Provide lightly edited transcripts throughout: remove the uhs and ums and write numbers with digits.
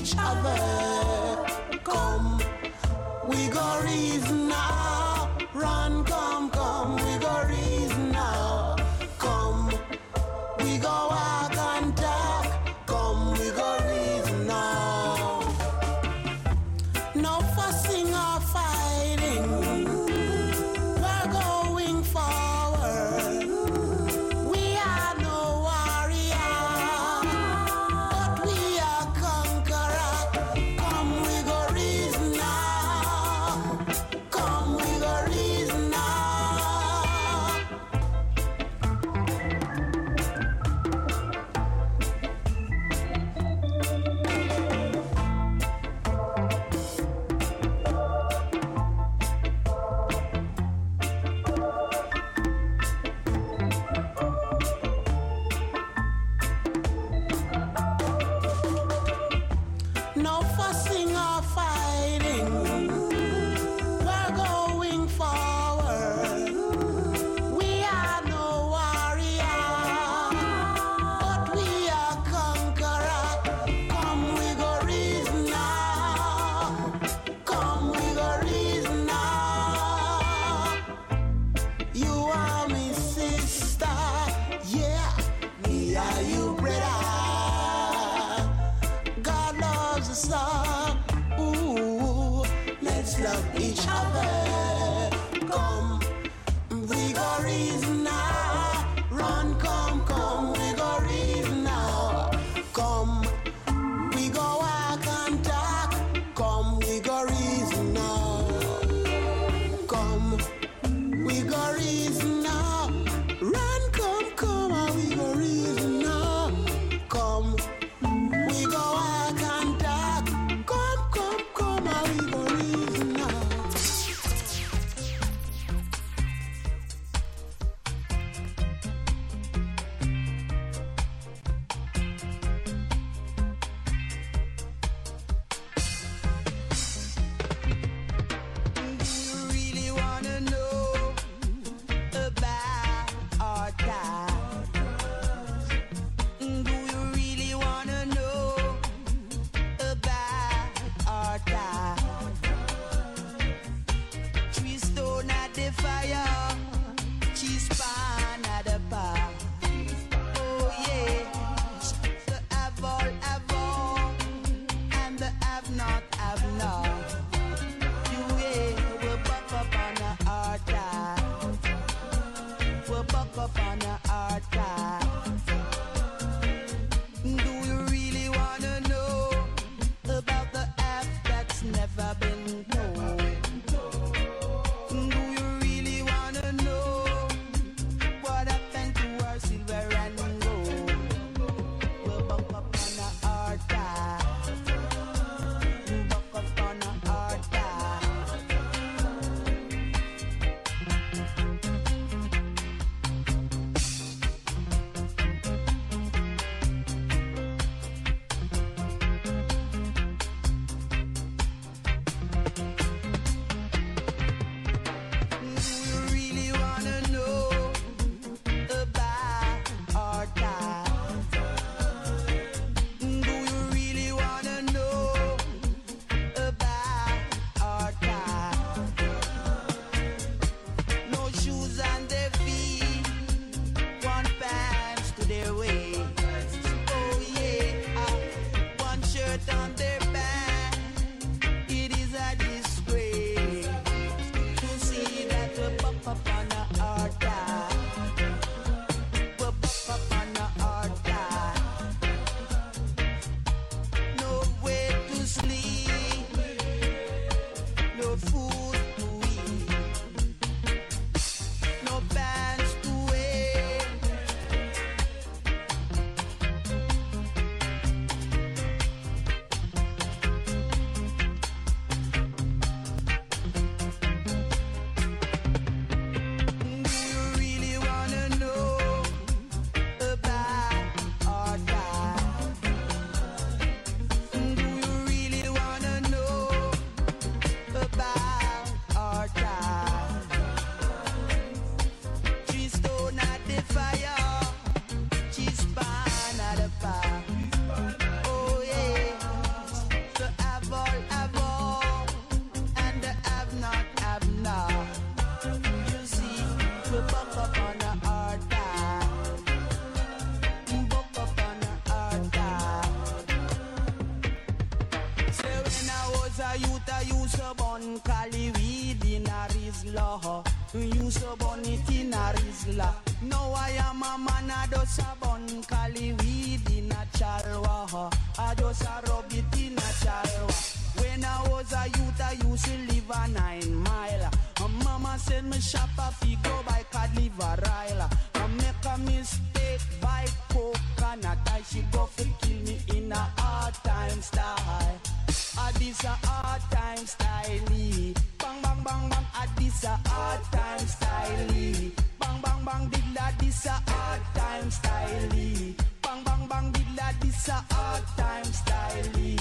each other. Come, we go reason now. Run, come, we go reason now. Come, we go walk and talk. Come, we go reason now. No fussing or fighting. We're going forward. We are no warrior, but we are conqueror. Come, we go reason now. bun Cali weed in a Rizla. You so bun it in a Rizla. Now I am a man, I just a bun Cali weed in a Chalwa. I just a rub it in a Chalwa. When I was a youth, I used to live a 9 mile. Mama said me shop a fig go by card live a rile. I make a mistake by coconut. I she go for kill me in a hard time style. This a hard time style. Bang bang bang bang. This a hard time style. Bang bang bang dilla. This a hard time style. Bang bang bang dilla. This a hard time style.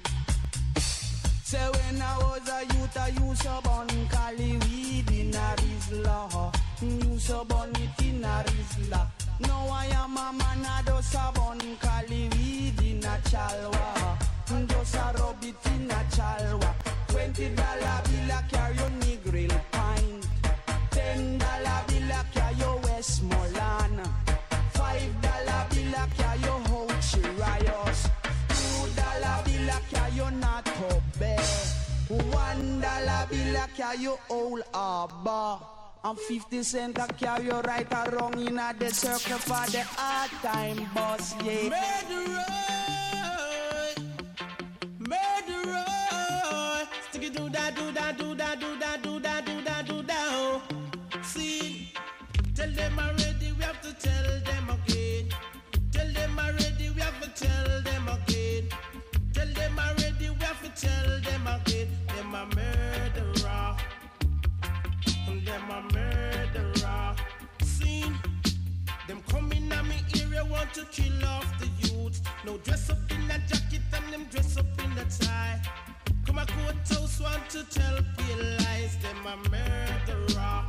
Say when I was a youth, I used to bun Cali weed in a Rizla. Used to bun it in a Rizla. Now I am a man, I just a bun Cali weed in a Chalwa. Just a rub it in a Chalwa. $20 bill a carry your Negril pint. $10 bill a carry your Westmoreland. $5 bill a carry your Hochi Rios. $2 bill a carry your Nato Bear. $1 bill a carry your Old Arbor. And 50 cents a carry your right or wrong in a the circle for the hard time boss, yeah. Murderer, stick it do that, do that, do that, do that, do that, do that, do that, oh. See, tell them already, we have to tell them again. Tell them already, we have to tell them again. Tell them already, we have to tell them again. Them a murderer. Them a murderer. See, them coming at me area want to kill off the youth. No dress up in a jacket and them dress up in a tie. Come a courthouse want to tell pale lies. Them a murderer.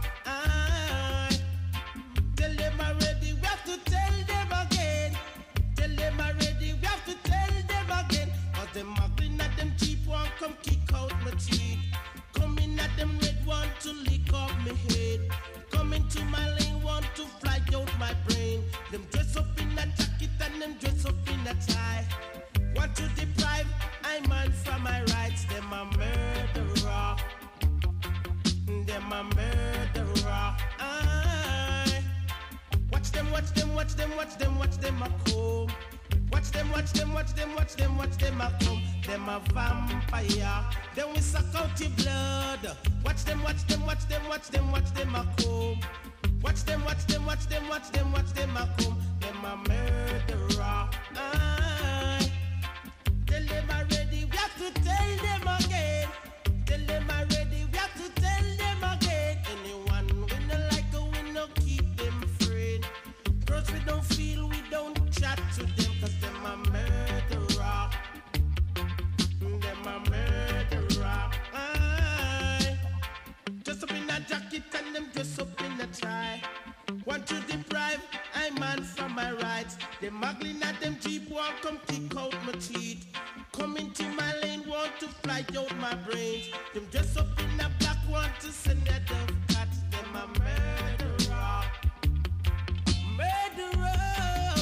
Tell them already, we have to tell them again. Tell them already, we have to tell them again. Cause them muggling at them cheap one come kick out my teeth. Coming at them red want to lick off my head. Coming to my lane want to fly out my brain. Them dress up in a jacket and them dress up in a tie. Want to deprive I man from my rights. Them a murderer. Them a murderer. Watch them, watch them, watch them, watch them, watch them a come. Watch them, watch them, watch them, watch them, watch them a come. Them a vampire. Then we suck out your blood. Watch them, watch them, watch them, watch them, watch them a come. Watch them, watch them, watch them, watch them, watch them a come. Them a murderer. Tell them already, we have to tell them again. Tell them already, we have to tell them again. Anyone we no like, we no keep them afraid. Girls we don't feel, we don't chat to them, cause them a murderer. Them a murderer. Dress up in a jacket and them dress up in a tie. Want to deprive I man from my rights. Them muggling at them cheap one come kick out my teeth. Come into my lane want to fly out my brains. Them dress up in a black want to send a dove cat. Them a murderer. Murderer.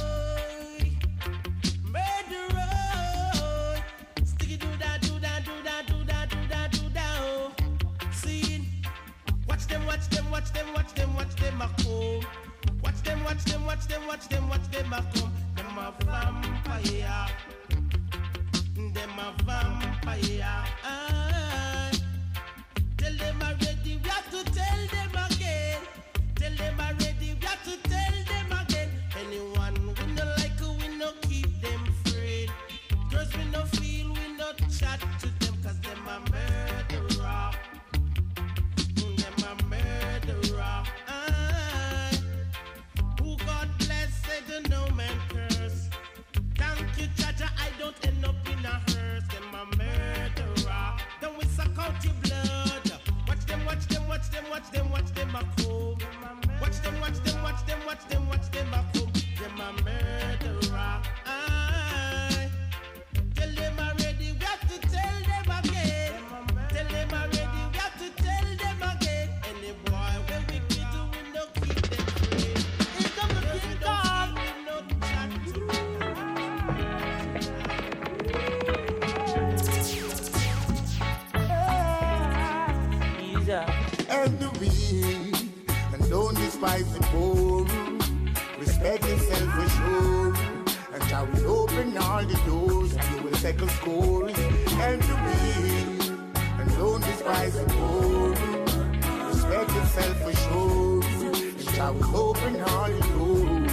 Murderer. Sticky do that, do that, do that, do that, do that, do that, oh. See, watch them, watch them, watch them, watch them, watch them a come. Watch them, watch them, watch them, watch them, watch them a come. Them a vampire. Them a vampire. Tell them already, we have to tell them again. Tell them already, we have to tell them again. Anyone we no like, we no keep them afraid. Girls we no feel, we no chat to them, cause them a murderer. Them a murderer. Who God bless, said no man curse. Thank you, Jaja, I don't end up in a hearse. Them a murderer. Then we suck out your blood. Watch them, watch them, watch them, watch them, watch them a come. Watch them, watch them, watch them, watch them, watch them a come. Them a murderer. Tell them already, we have to tell them again. all the doors, and you will settle scores. Help the weak, and don't despise the poor. Respect yourself for sure, and Jah will open all the doors.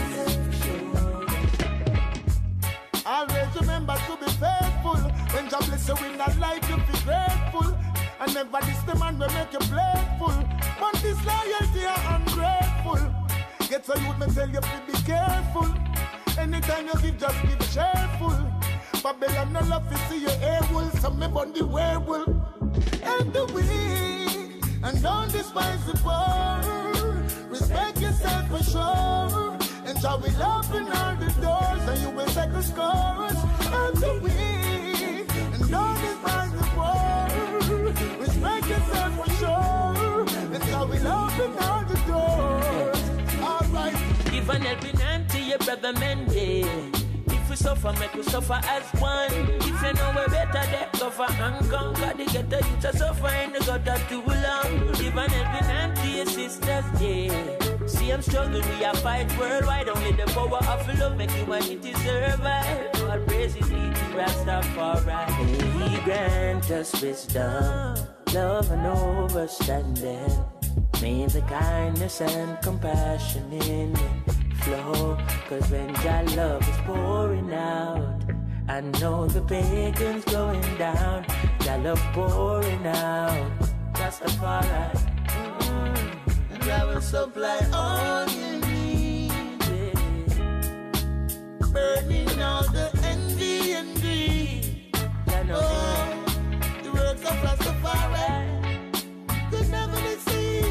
Always remember to be faithful. When Jah bless you in that life, you be grateful. And never diss the man will make you playful. But this loyalty are ungrateful. Get so youth, me tell you to be careful. Anytime you give, just give cheerful. Babylon no love to see you able. So me burn the werewolf. Help the weak, and don't despise the poor. Respect yourself for sure, and Jah will open all the doors, and you will settle scores. Help the weak, and don't despise the poor. Respect yourself for sure, and Jah will open all the doors. Alright. Give an helping hand to your brother man, yeah. If we suffer, make we suffer as one. If you know we're better, they suffer and conquer. They get the youth to suffer and they got that too long. Give an helping hand to your sisters, yeah. See I'm struggling, we are fight worldwide. Only the power of love make humanity survive. God praises be to Rastafari. He grant us wisdom, love and understanding. May the kindness and compassion in it flow. Cause when Jah love is pouring out, I know the pagans going down. Jah love pouring out, Rastafari. And Jah will supply all you need, yeah. Burning all the envy and greed. Oh, the works of Rastafari could never be seen.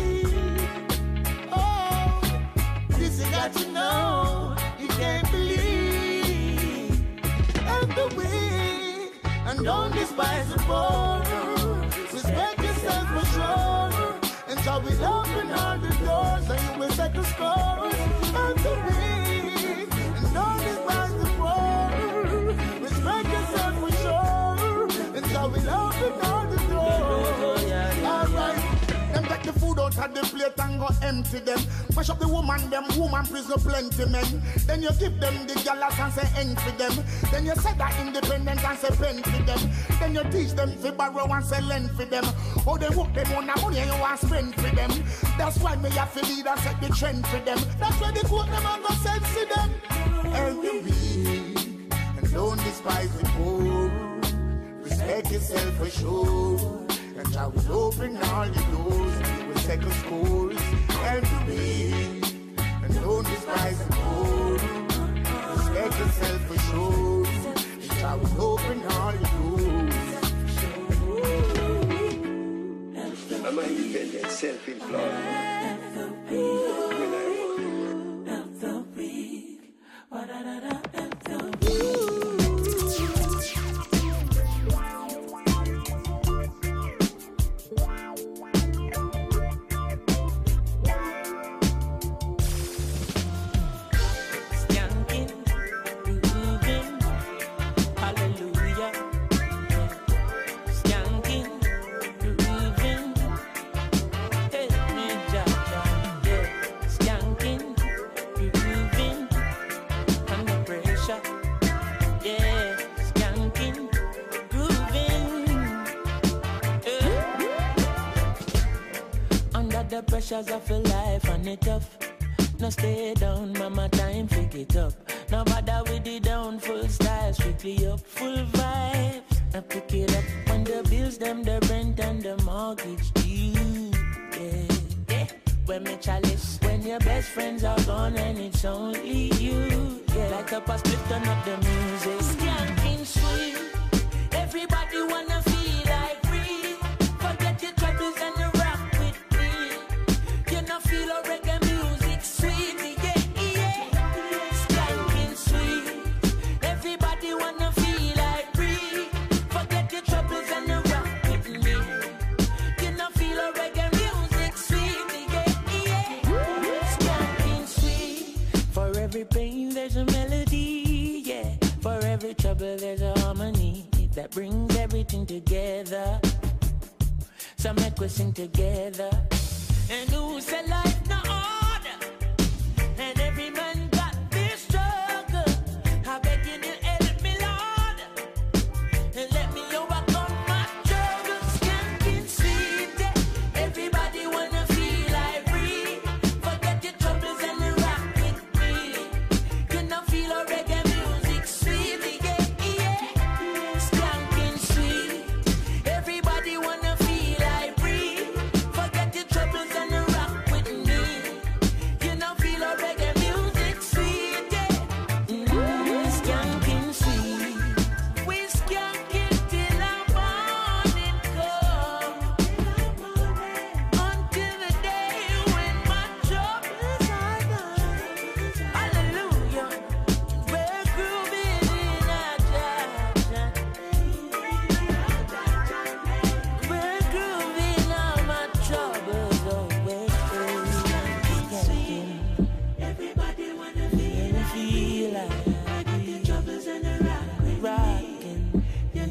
You got to know, you can't believe. Help the weak, and don't despise the poor. Respect yourself for sure, and Jah will open all the doors, and you will settle scores. Help the weak, and don't despise the poor. Respect yourself for sure, and Jah will open all the doors. Alright. Them take the food out of the plate and go empty them. Mash up the woman prison plenty men. Then you give them the galas and say end for them. Then you say that independent and say pen for them. Then you teach them to borrow and say lend for them. Oh, they work them on the money and you want spend for them. That's why me have to lead and set the trend for them. That's why they quote them and go send to them. Help the weak, and don't despise the poor. Respect yourself for sure, and Jah will open all the doors, and you will settle scores. Help the weak, and don't despise the poor. Respect yourself for sure, and Jah will open all the doors. I'm an independent, self-employed. Help the weak. The pressures of a life and it tough. No stay down, mama, time pick it up. No bother with the down, full style, strictly up, full vibes. I pick it up when the bills, them, the rent and the mortgage due. Yeah, yeah. When me chalice, when your best friends are gone and it's only you. Yeah, like up a split, turn up the music. Skanking sweet, everybody wanna feel like free. Forget your troubles and the feel a reggae music sweet, yeah, yeah. Skanking sweet. Everybody wanna feel like free. Forget your troubles and the rock with me. You know feel a reggae music sweet, yeah, yeah. Skanking sweet. For every pain there's a melody, yeah. For every trouble there's a harmony that brings everything together. So make we sing together. And who say life no order, and every man got this struggle. I beg you to help me, Lord.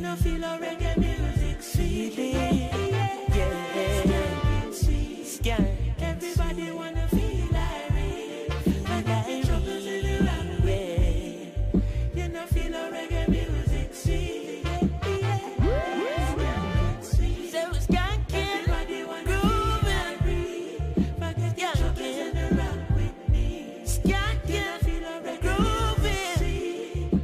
know feel a reggae music sweetly. Skank. Everybody wanna feel irate. And I troubles in the wrong way. You know feel a reggae music sweet. So skanking, grooving, forget your troubles in the wrong with me. Skanking, grooving,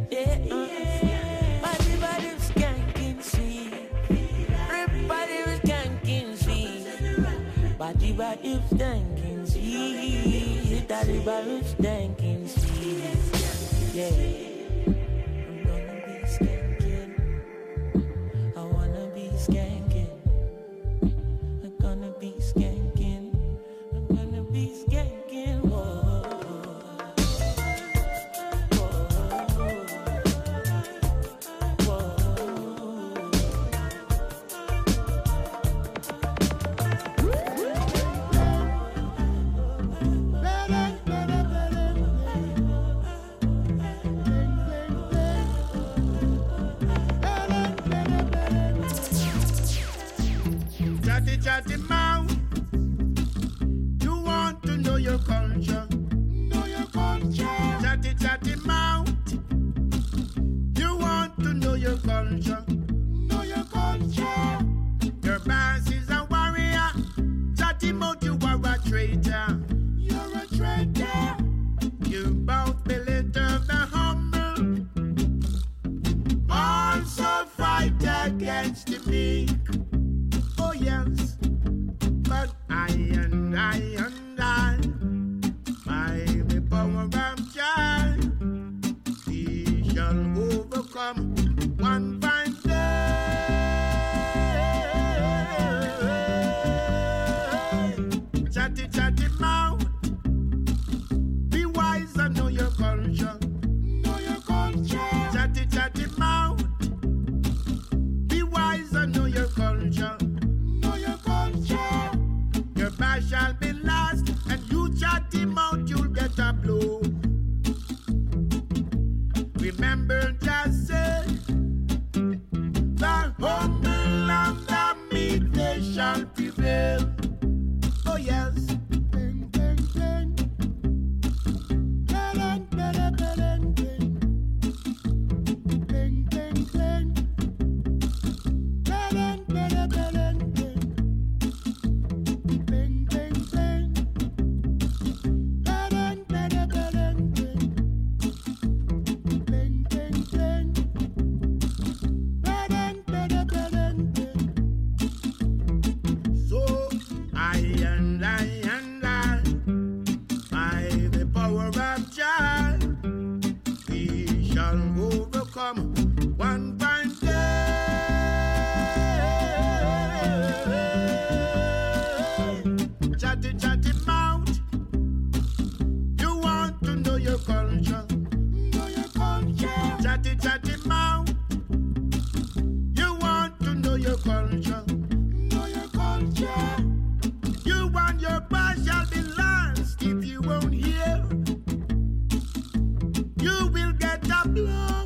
yeah. Everybody was skanking sweet. Everybody was skanking sweet. Body was skanking sweet. Everybody was skanking sweet. Yeah. I'm gonna be skanking. I wanna be skanking. I'm gonna be skanking. I'm gonna be skanking. Whoa. Chatty mouth, you want to know your culture. Know your culture. Chatty mouth, you want to know your culture. Know your culture. Your boss is a warrior. Chatty mouth, you are a traitor. You're a traitor. You both belittle the humble. Also fight against the meek. Oh yes, but I, by the power of child, we shall overcome one fine day. Chatty mouth, be wise and know your culture. Know your culture. Chatty mouth, be wise and know your culture. Your bash shall be last, and you chat him out, you'll get a blow. Remember, just say, the humble and the meek, they shall prevail. Oh yes. Bing, bing, bing. Bing, bing, bing, bing. Bing, bing, bing. Bing, bing, bing, bing. One fine day. Chatty mouth, you want to know your culture. Know your culture. Chatty mouth, you want to know your culture. Know your culture. You want your past shall be last if you won't hear. You will get a blow.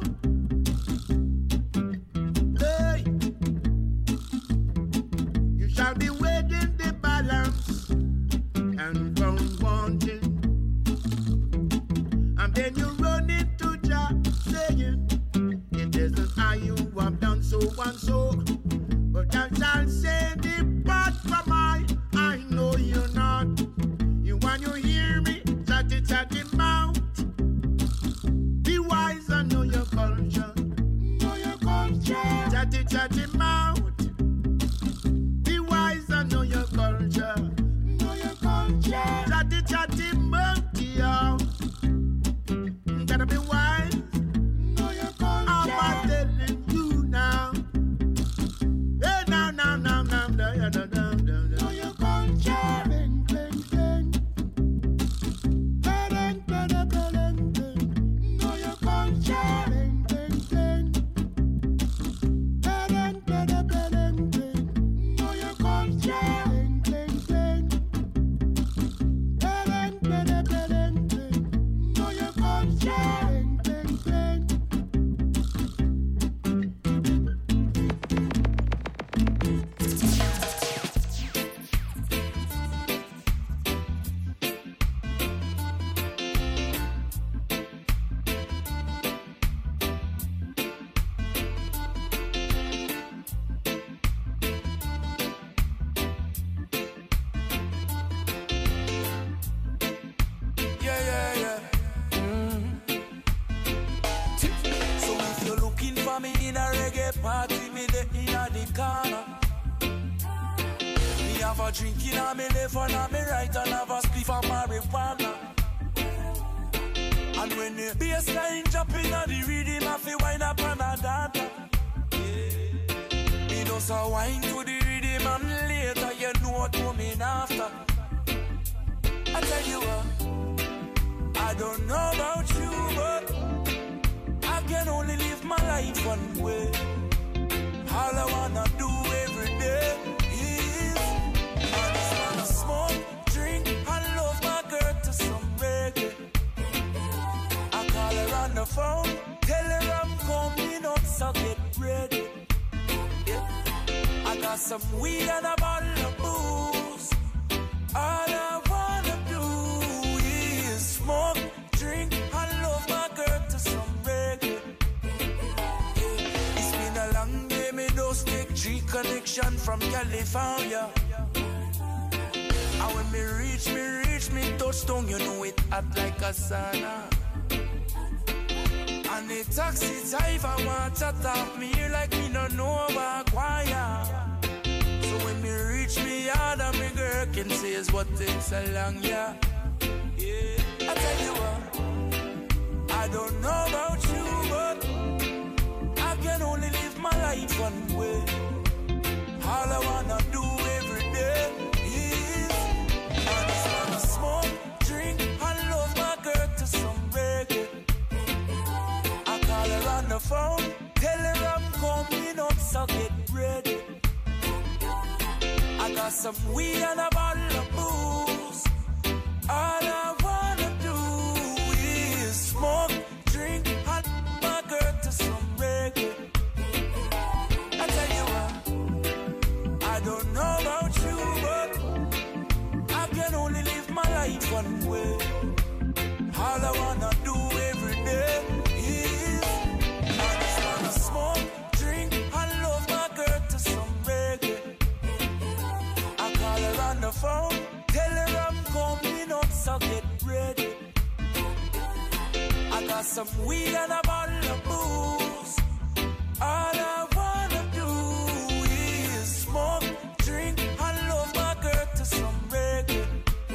Shall be weighing the balance and found wanting, and then you run into Jah saying, it isn't I you have done so and so, but I shall say, depart from I know you're not. You want you hear me? Chatty mouth, be wise and know your culture. Know your culture. Chatty mouth, know your culture. Know your culture. Chatty monkey, yo. Gotta be wise. Know your culture. I'm telling you now. Hey, now. Know your culture. Bing, bing, bing. Bing, bing, bing, bing. Know your culture. Bing, bing, bing. Bing, for me in a reggae party, me the inna the corner. Me have a drink in a me left and a me right and have a spliff of marijuana. And when the bassline jump in a the rhythm, I feel wind up on a data. Me just a wine to the rhythm and later you know what coming after. I tell you what, I don't know about you, but I can only live my life one way. All I wanna do every day is I just wanna smoke, drink, and love my girl to some reggae. I call her on the phone, tell her I'm coming up, so get ready. Yeah. I got some weed and a bottle of booze. All I wanna do is smoke, drink, and love my girl to some reggae. Yeah. It's been a long day, me just take G connection from California. And when me reach me touchdown, you know it hot like a sauna. And the taxi driver want to talk me here like me no know about choir. So when me reach me yard and me girl can say is what takes so long, yeah. Yeah, I tell you what, I don't know about you, but I can only live my life one way. All I wanna do every day is I just wanna smoke, drink, and love my girl to some reggae. I call her on the phone, tell her I'm coming up, so get ready. I got some weed and a bottle of booze. All I wanna do is smoke, drink, and my girl to some reggae. I tell you what, I don't know about you, but I can only live my life one way. All I wanna do every day is I just wanna smoke, drink, and love my girl to some reggae. I call her on the phone, tell her I'm coming up, so get ready. I got some weed and a bottle of booze. All I wanna do is smoke, drink, and love my girl to some reggae.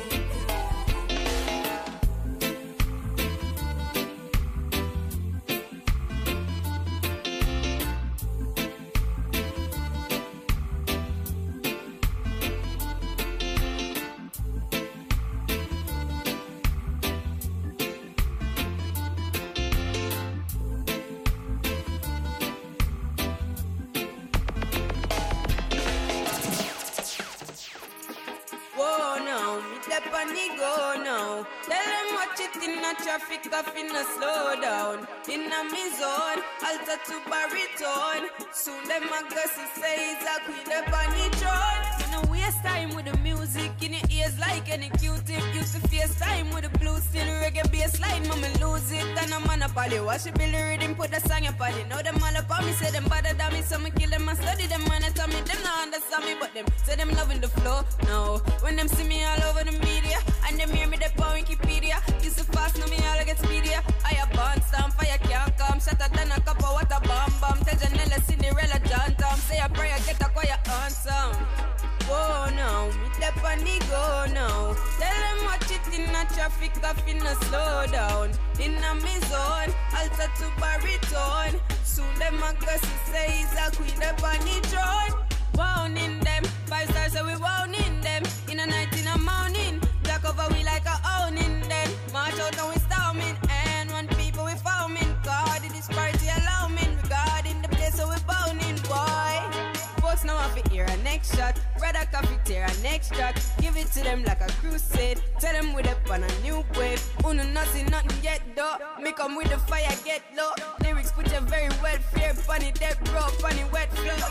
Go now. Tell them watch it in a traffic, off in a slow down. In a me zone, alter to baritone. Soon them a go say it's a queen up on the throne. You know waste time with the music in your ears like any Q-tip. Used to face time with the blue steel reggae bass line, mama lose it. And I'm on a poly, watch it build the rhythm, put the song up on it. Now them all up on me, say them bother than me, so me kill them and study them and tell me them not understand me, but them say them loving the flow. Now when them see me all over the media and them hear me the on Wikipedia, used to fast, now me all get speedier. I a bond stamp, fire can't come, shatter than a cup of water bomb bomb. Tell Janella, Cinderella, John Tom, say a prayer, get a quiet answer. Whoa now, me step on the go now. Tell them watch it in a traffic, off in a slow down. In a me zone, alter to baritone. Soon them a go say he's a queen up on the throne. Wound in them, 5 stars so we wound in them. In a night, in a morning, black over we like a owning them. March out and we storming, and one people we foaming. God in this party alarming. We God in the place so we bounding, boy. Folks now have to hear a next shot. Brother coffee tear a next track. Give it to them like a crusade. Tell them we up on a new wave. Uno nothing yet though. Me come with the fire, get low. Lyrics put you very well fear. Funny dead bro, funny wet flow.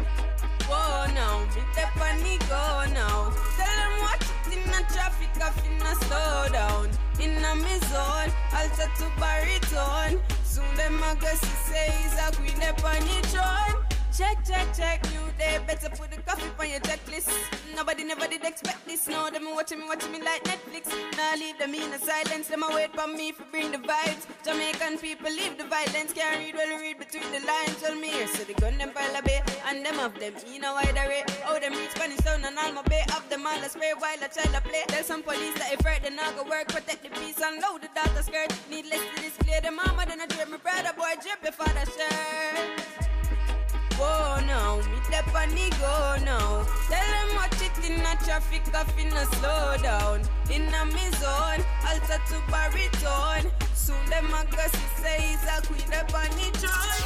Whoa now, me step on the go now. Tell them watch it in a traffic, off in a slow down. In a me zone, alter to baritone. Soon them a go say he's a queen up on the throne. Check, check, check, new day, better put the coffee on on your checklist. Nobody never did expect this. Now them watching me like Netflix. Now leave them in a silence. Them a wait for me to bring the vibes. Jamaican people leave the violence. Can't read well, read between the lines. Tell me here, so the gun them pile a bay. And them of them in a wide array. Oh, them reach Spanish town and Alma Bay. Of them all a spray while a child a play. Tell some police that if hurt, they not go work. Protect the peace and load the daughter skirt. Needless to display the mama, then I drip my brother boy, drip your father shirt. Whoa now, me step on the go now. Tell them watch it in a traffic, off in a slow down. In a me zone, alter to baritone. Soon them a go see say he's a queen up on the throne.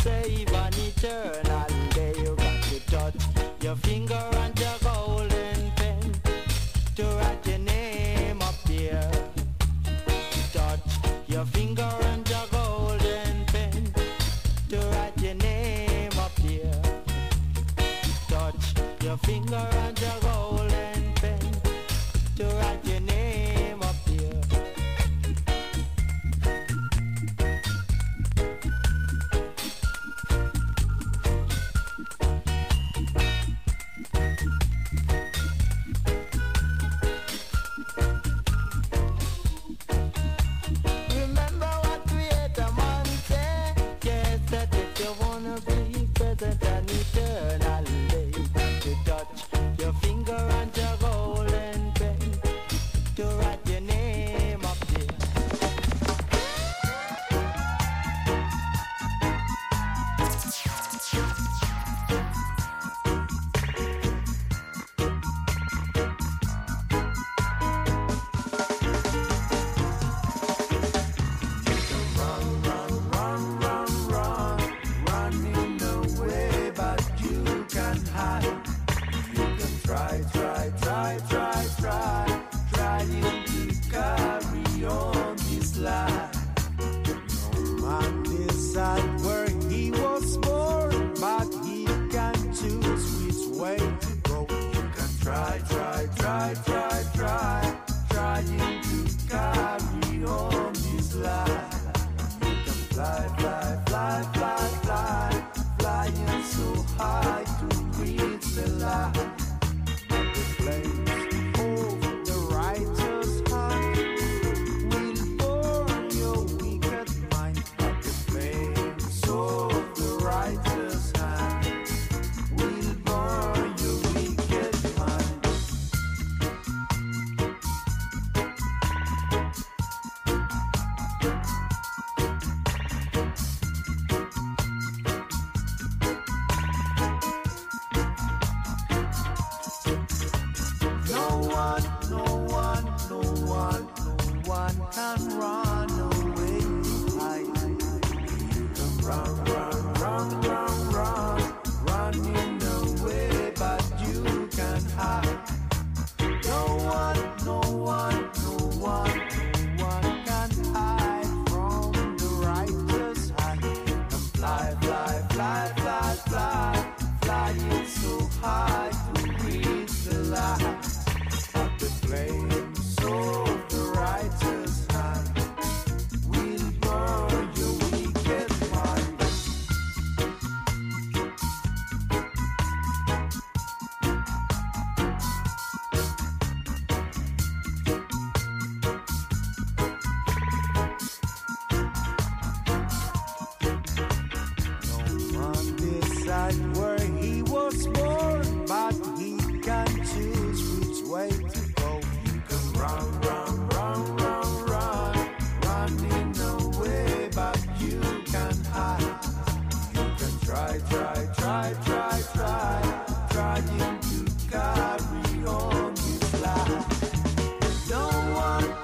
save an eternal day. You got to touch your finger and your golden pen to write your name up there. Touch your finger and your golden pen to write your name up there. Touch your finger and your golden pen to write your name up there. Remember what Creator Man said? Yes, that if you wanna be present and eternally, to touch your finger and your golden pen to write your name up there. Running away, but you can hide. You can try, trying to carry on this life. No man decide where he was born, but he can choose which way to go. You can try, trying to carry on this life. You can fly, flying so high to reach the light. The flames of the righteous heart will burn your wicked mind. But the flames of the righteous hand will burn your wicked mind. No one can run away to hide. You can running away, but you can hide. No one can hide from the righteous hand. And flying so high to reach the light. But the flames of the righteous hand will burn your wicked mind. No one decide where he was born, but he can choose which way to go. You can running away, but you can hide. You can try, trying to carry on this life. No one.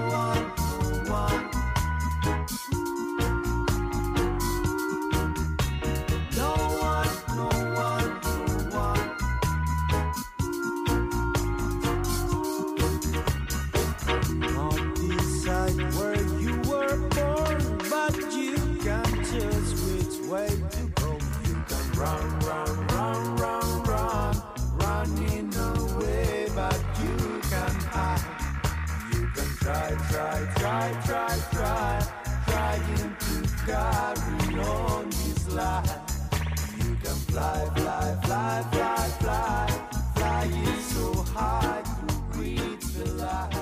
Not decide where you were born, but you can choose which way to go. You can running away, but you can hide. You can try, trying to carry on this life. You can fly, flying so high to reach the light.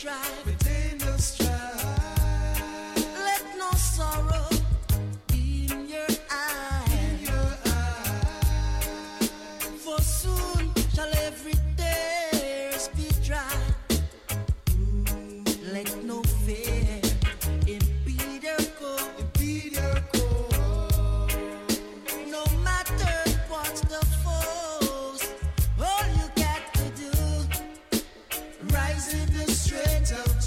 strife. Within the strife. Let no sorrow in your eyes. In your eyes. For soon shall every tears be dry. Let no fear impede your course. Impede your course. No matter what's the force, all you got to do, rise in the strength of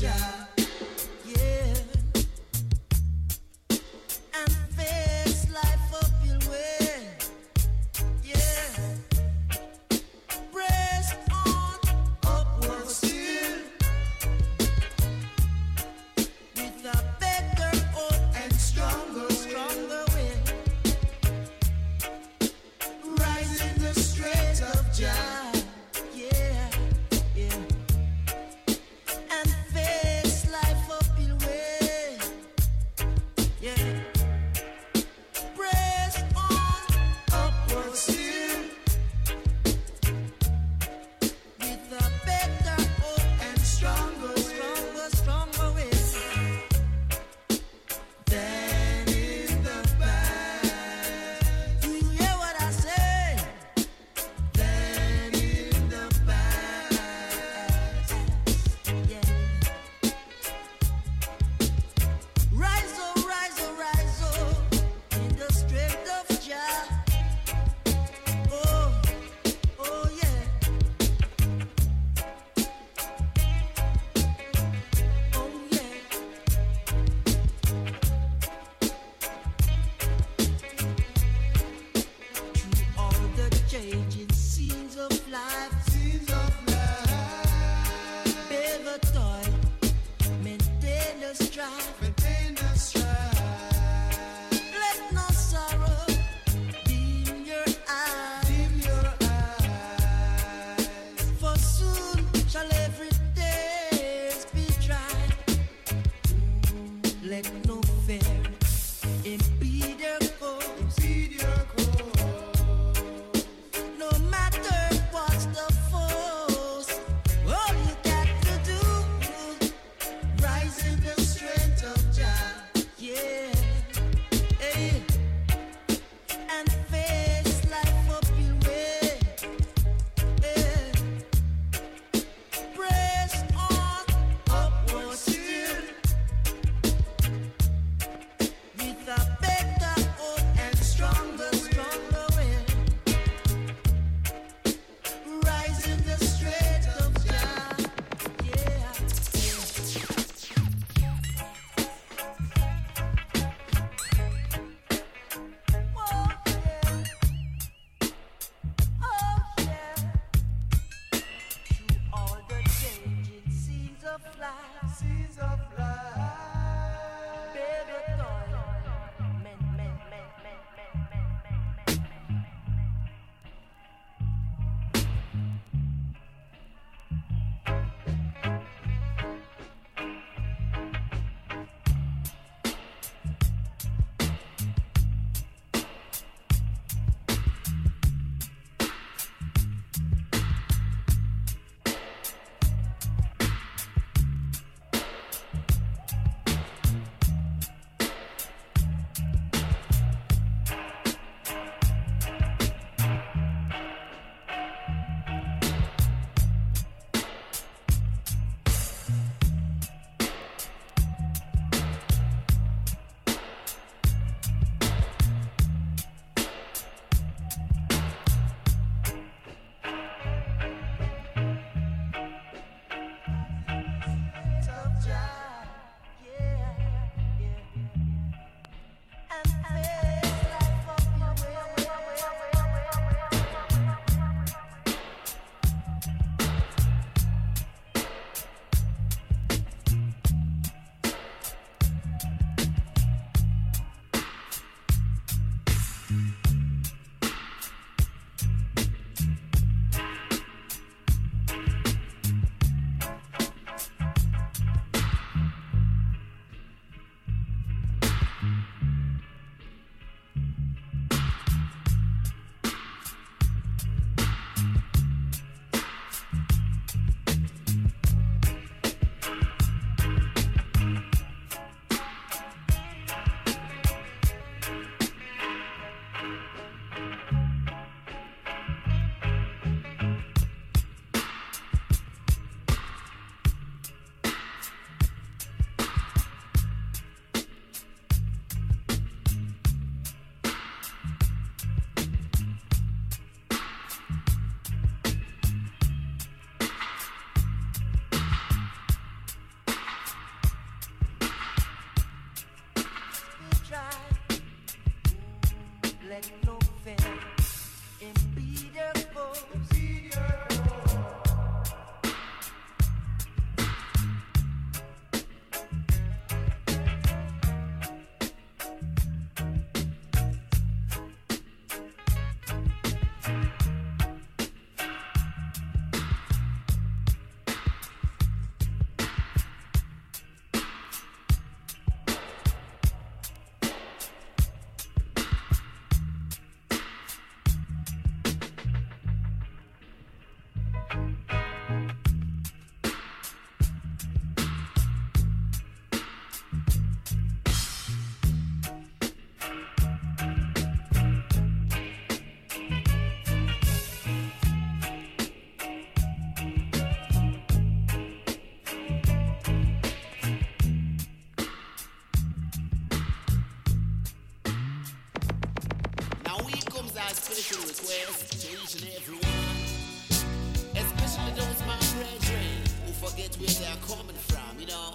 our special request to each and every one, especially those my brethren who forget where they are coming from, you know.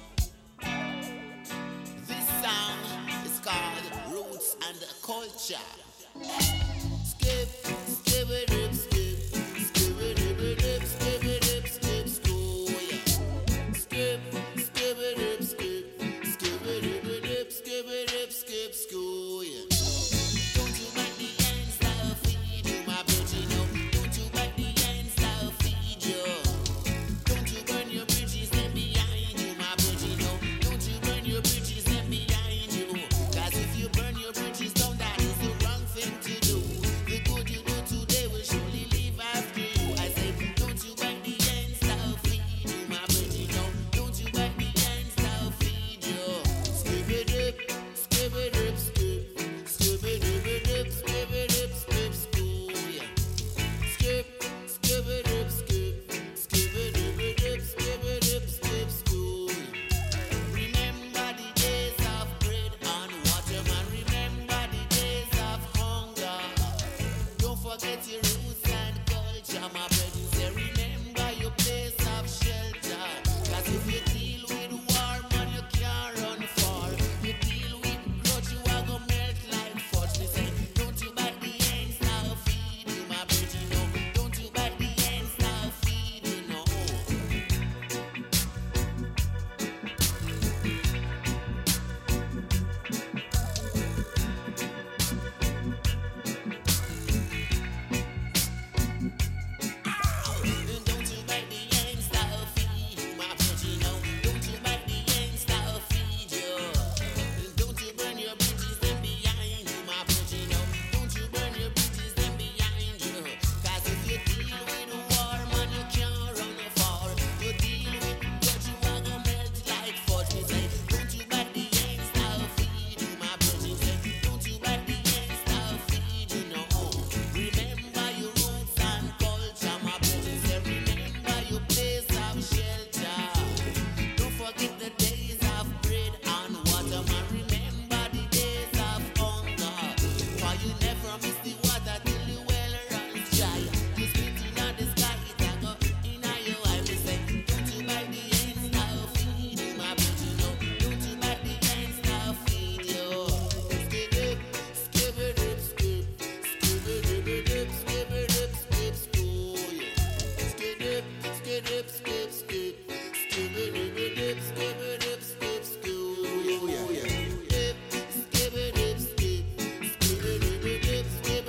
This song is called Roots and Culture. Skip, skip it up, skip, skip it up, skip it up, skip, school, yeah. Skip, skip it up, skip, skip it up, skip it up, skip, school, yeah. Don't you make the ends now feed you, my virgin, no. Don't you make the ends now feed you. Don't you burn your bridges left behind you, my virgin, no. Don't you burn your bridges left behind you. Cause if you burn your bridges down, that is the wrong thing to do. The good you do today will surely leave after you. I say, don't you bite the ends now feed you, my virgin, no. Don't you bite the ends now feed you. Skip it up, skip it up, skip. Skip it up, skip it up, skip school, yeah. Skip, skip it up, skip. Skip it up, skip it up, skip school. Remember the days of bread and water, man. Remember the days of hunger. Don't forget your roots and culture, my brethren. Say remember your place of shelter. Cause if you deal with war, man, you can't run far. You deal with grudge, you are gonna melt like fudge. They say, don't you bite the ends now feed you, my brethren, no. Don't you bite the ends now feed you, no. Don't you bite the ends now feed you, my virgin, no. Don't you bite the ends now feed you. Don't you burn your bridges them behind you, my virgin, no. Don't you burn your bridges them behind you. Cause if you deal with war, man, you can't run far. You deal with grudge, you are gonna melt like fudge. Me say, don't you bite the ends now feed you, my virgin, say, don't you bite the ends now feed you, no. Remember your roots and culture, my virgin, say, remember your place of shelter. Don't forget the days of bread and water, man. Remember the days of hunger. For you never miss the water till the well runs dry. You spit in the sky, it a go in your eye. Me say, don't you bite the ends now feed you, my virgin, no. Don't you bite the ends now feed you. Skip it, skip it up, skip. Skip it up, skip it up, skip school, yeah. Skip it, skip it, skip, skip. Skip it up, skip it up, skip school, yeah. Skip, skip it up, skip. Skip it up, skip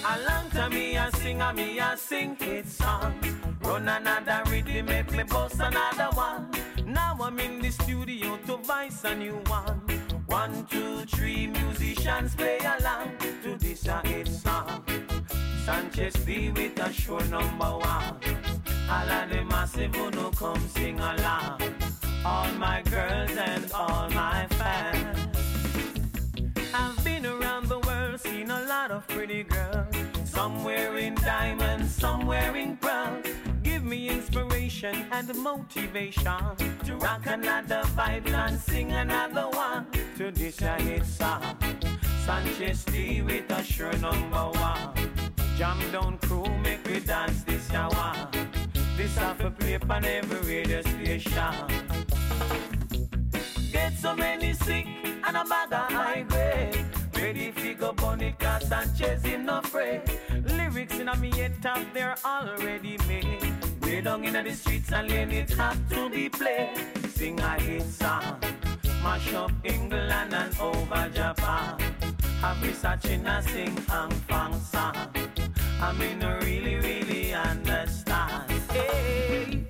A long time me a sing hit song. Run another rhythm, make me bust another one. Now I'm in the studio to voice a new one. 1, 2, 3, musicians play along to this a hit song. Sanchez D with a show number 1. All of the massive who no come sing along. All my girls and all my fans. I've been around the world, seen a lot of pretty girls. Some wearing diamonds, some wearing pearls. Give me inspiration and motivation to rock another vibe and sing another one to this a hit song. Sanchez D with a sure number 1. Jam down crew, make we dance this ya one. This off a play on every radio station. Get so many sick and a bag of high grade. Ready fi go bunny cause Sanchez him no afraid. Lyrics in a me head top, they're already made. Way down in the streets and lane it have to be played. Sing a hit song, mash up England and over Japan. Have me searching a sing hang fang song. I mean I really, really understand. Hey.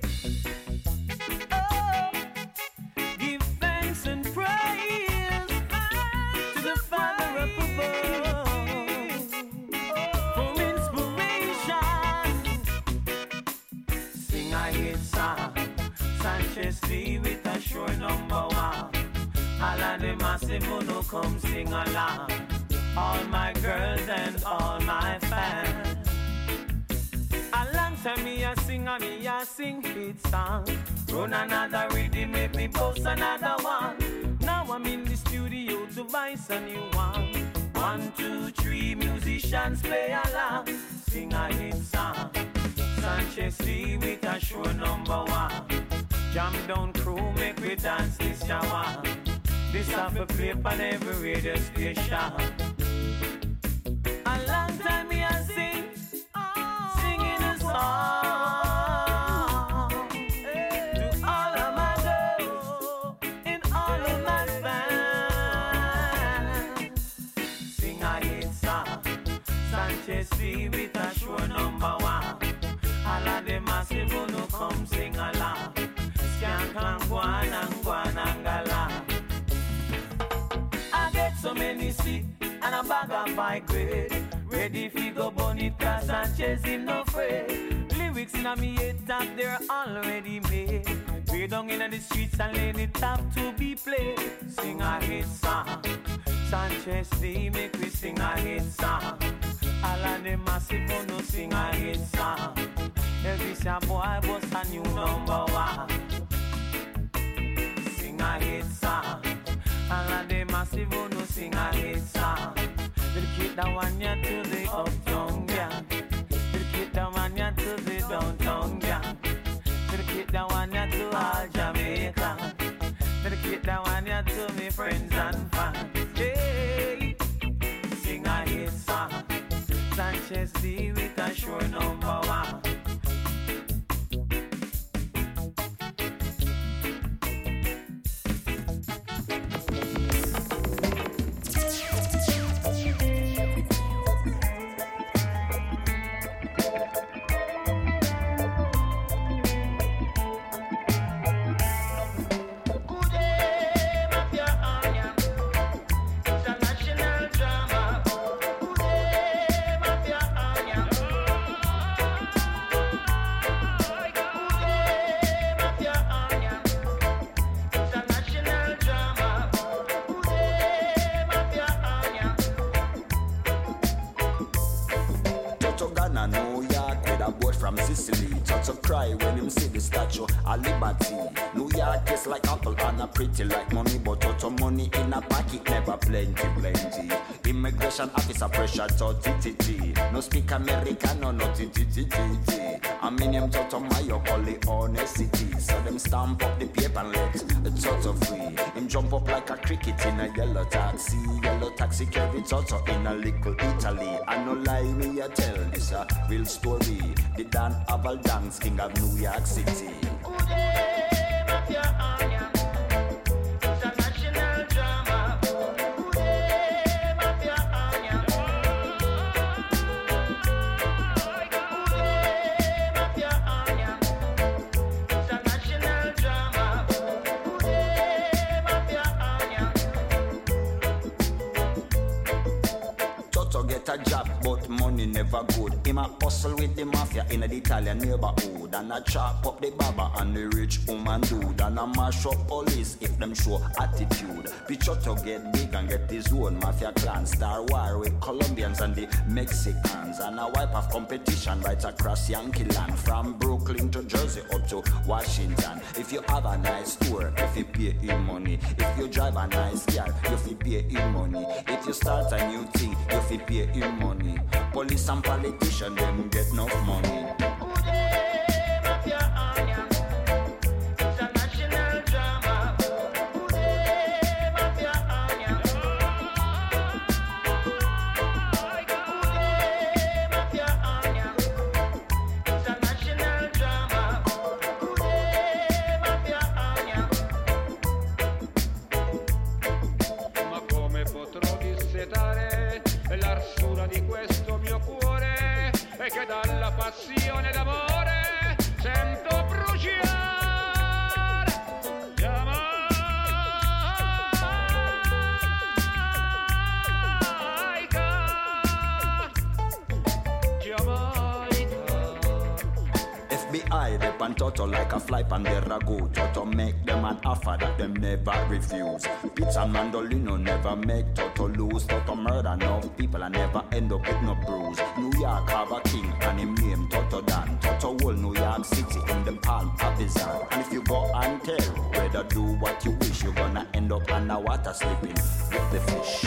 Oh. Give thanks and praise to the Father up above for inspiration. Sing a hit song, Sanchez D with a sure number 1. All of the massive who no come sing along. All my girls and all my fans. A long time me a sing hit song. Run another rhythm, make me post another one. Now I'm in the studio to voice a new one. 1, 2, 3, musicians play along. Sing a hit song. Sanchez D with a sure number 1. Jam down crew, make we dance this ya one. This have a play on every radio station. A long time me a sing, singing a song to all of my girls and all of my fans. Sing a hit song, Sanchez D with a sure number 1. All of the massive who no come sing along. Skank and guan and galang. I get so many sick and a bag of high grade. Ready fi go bunny cause Sanchez him no afraid. Lyrics in a me head top, they're already made. Way down in the streets and lane it have to be played. Sing a hit song, Sanchez D make we sing a hit song. All of the massive who no sing a hit song. Elvis a boy was a new number 1. Sing a hit song. All of the massive who no sing a hit song. Dedicate that one ya to the uptown gang. Dedicate that one ya to the downtown gang. Dedicate that one ya to all Jamaica. Dedicate that one ya to me friends and fans. Hey, sing a hit song. Sanchez D with a sure number 1. Pretty like mommy, but out of money in a pocket, never plenty. Immigration officer pressure to TTT. No speak American, no TTT. I mean him to my call it honesty. So them stamp up the paper and let it's auto free. Him jump up like a cricket in a yellow taxi carry Toto in a little Italy. I no lie me I tell this a real story. The Dan Aval Dance King of New York City. job, but money never good. Him a hustle with the mafia in the Italian neighborhood, and a chop up the baba and the rich woman dude, and a mash up police if them show attitude. Picture to get big and get his own mafia clan. Star war with Colombians and the Mexicans, and a wipe of competition right across Yankee land, from Brooklyn to Jersey up to Washington. If you have a nice tour, if you pay in money. If you drive a nice car, you fi pay in money. If you start a new thing, you fi pay in money. Police and politicians, them get enough money. Che dalla passione d'amore sento bruciare FBI, they pan Toto like a fly pan their ragu. Toto make them an offer that them never refuse. Pizza and Mandolino never make Toto lose. Toto murder no people and never end up with no bruise. New York have a king and him name Toto Dan. Toto whole New York City in the palm of his hand. And if you go and tell, whether do what you wish, you're gonna end up underwater sleeping with the fish.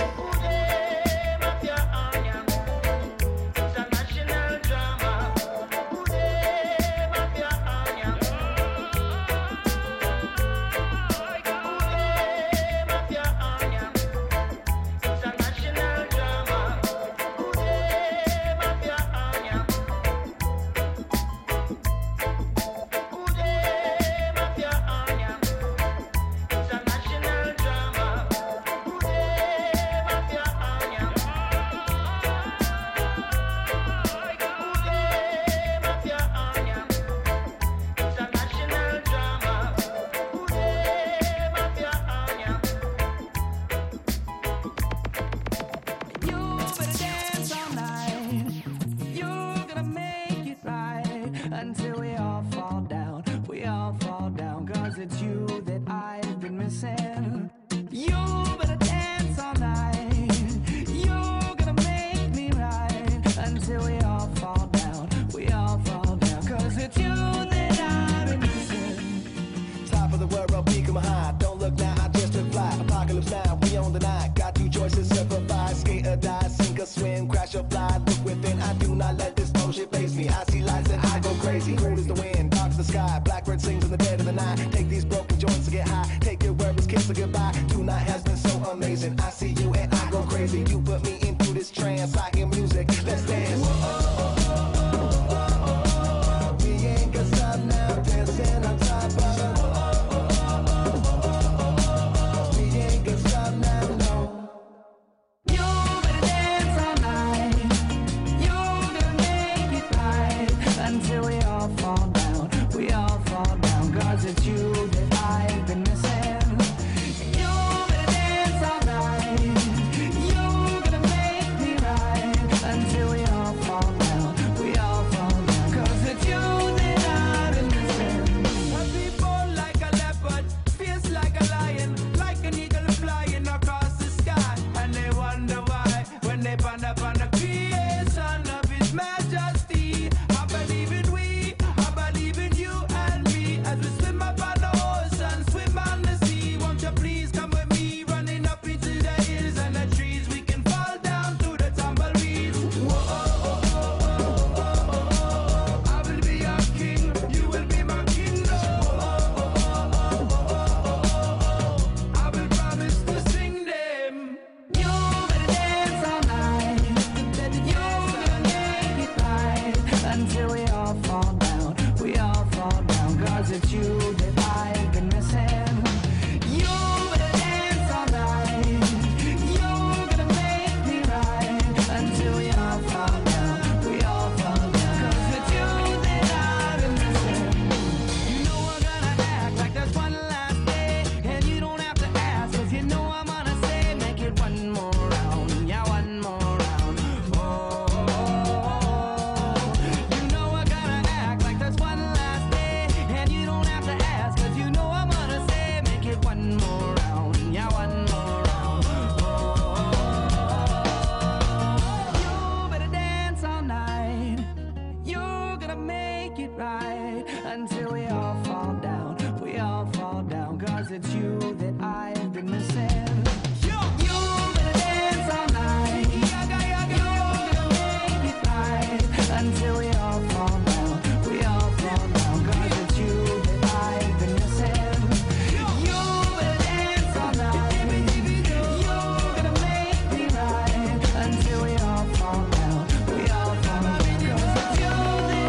right until we all fall down. We all fall down, cause it's you that I've been missing. You better dance all night. You better make it right until we all fall down. We all fall down, cause it's you that I've been missing. You better dance all night. You're gonna make me right until we all fall down. We all fall down, cause it's you that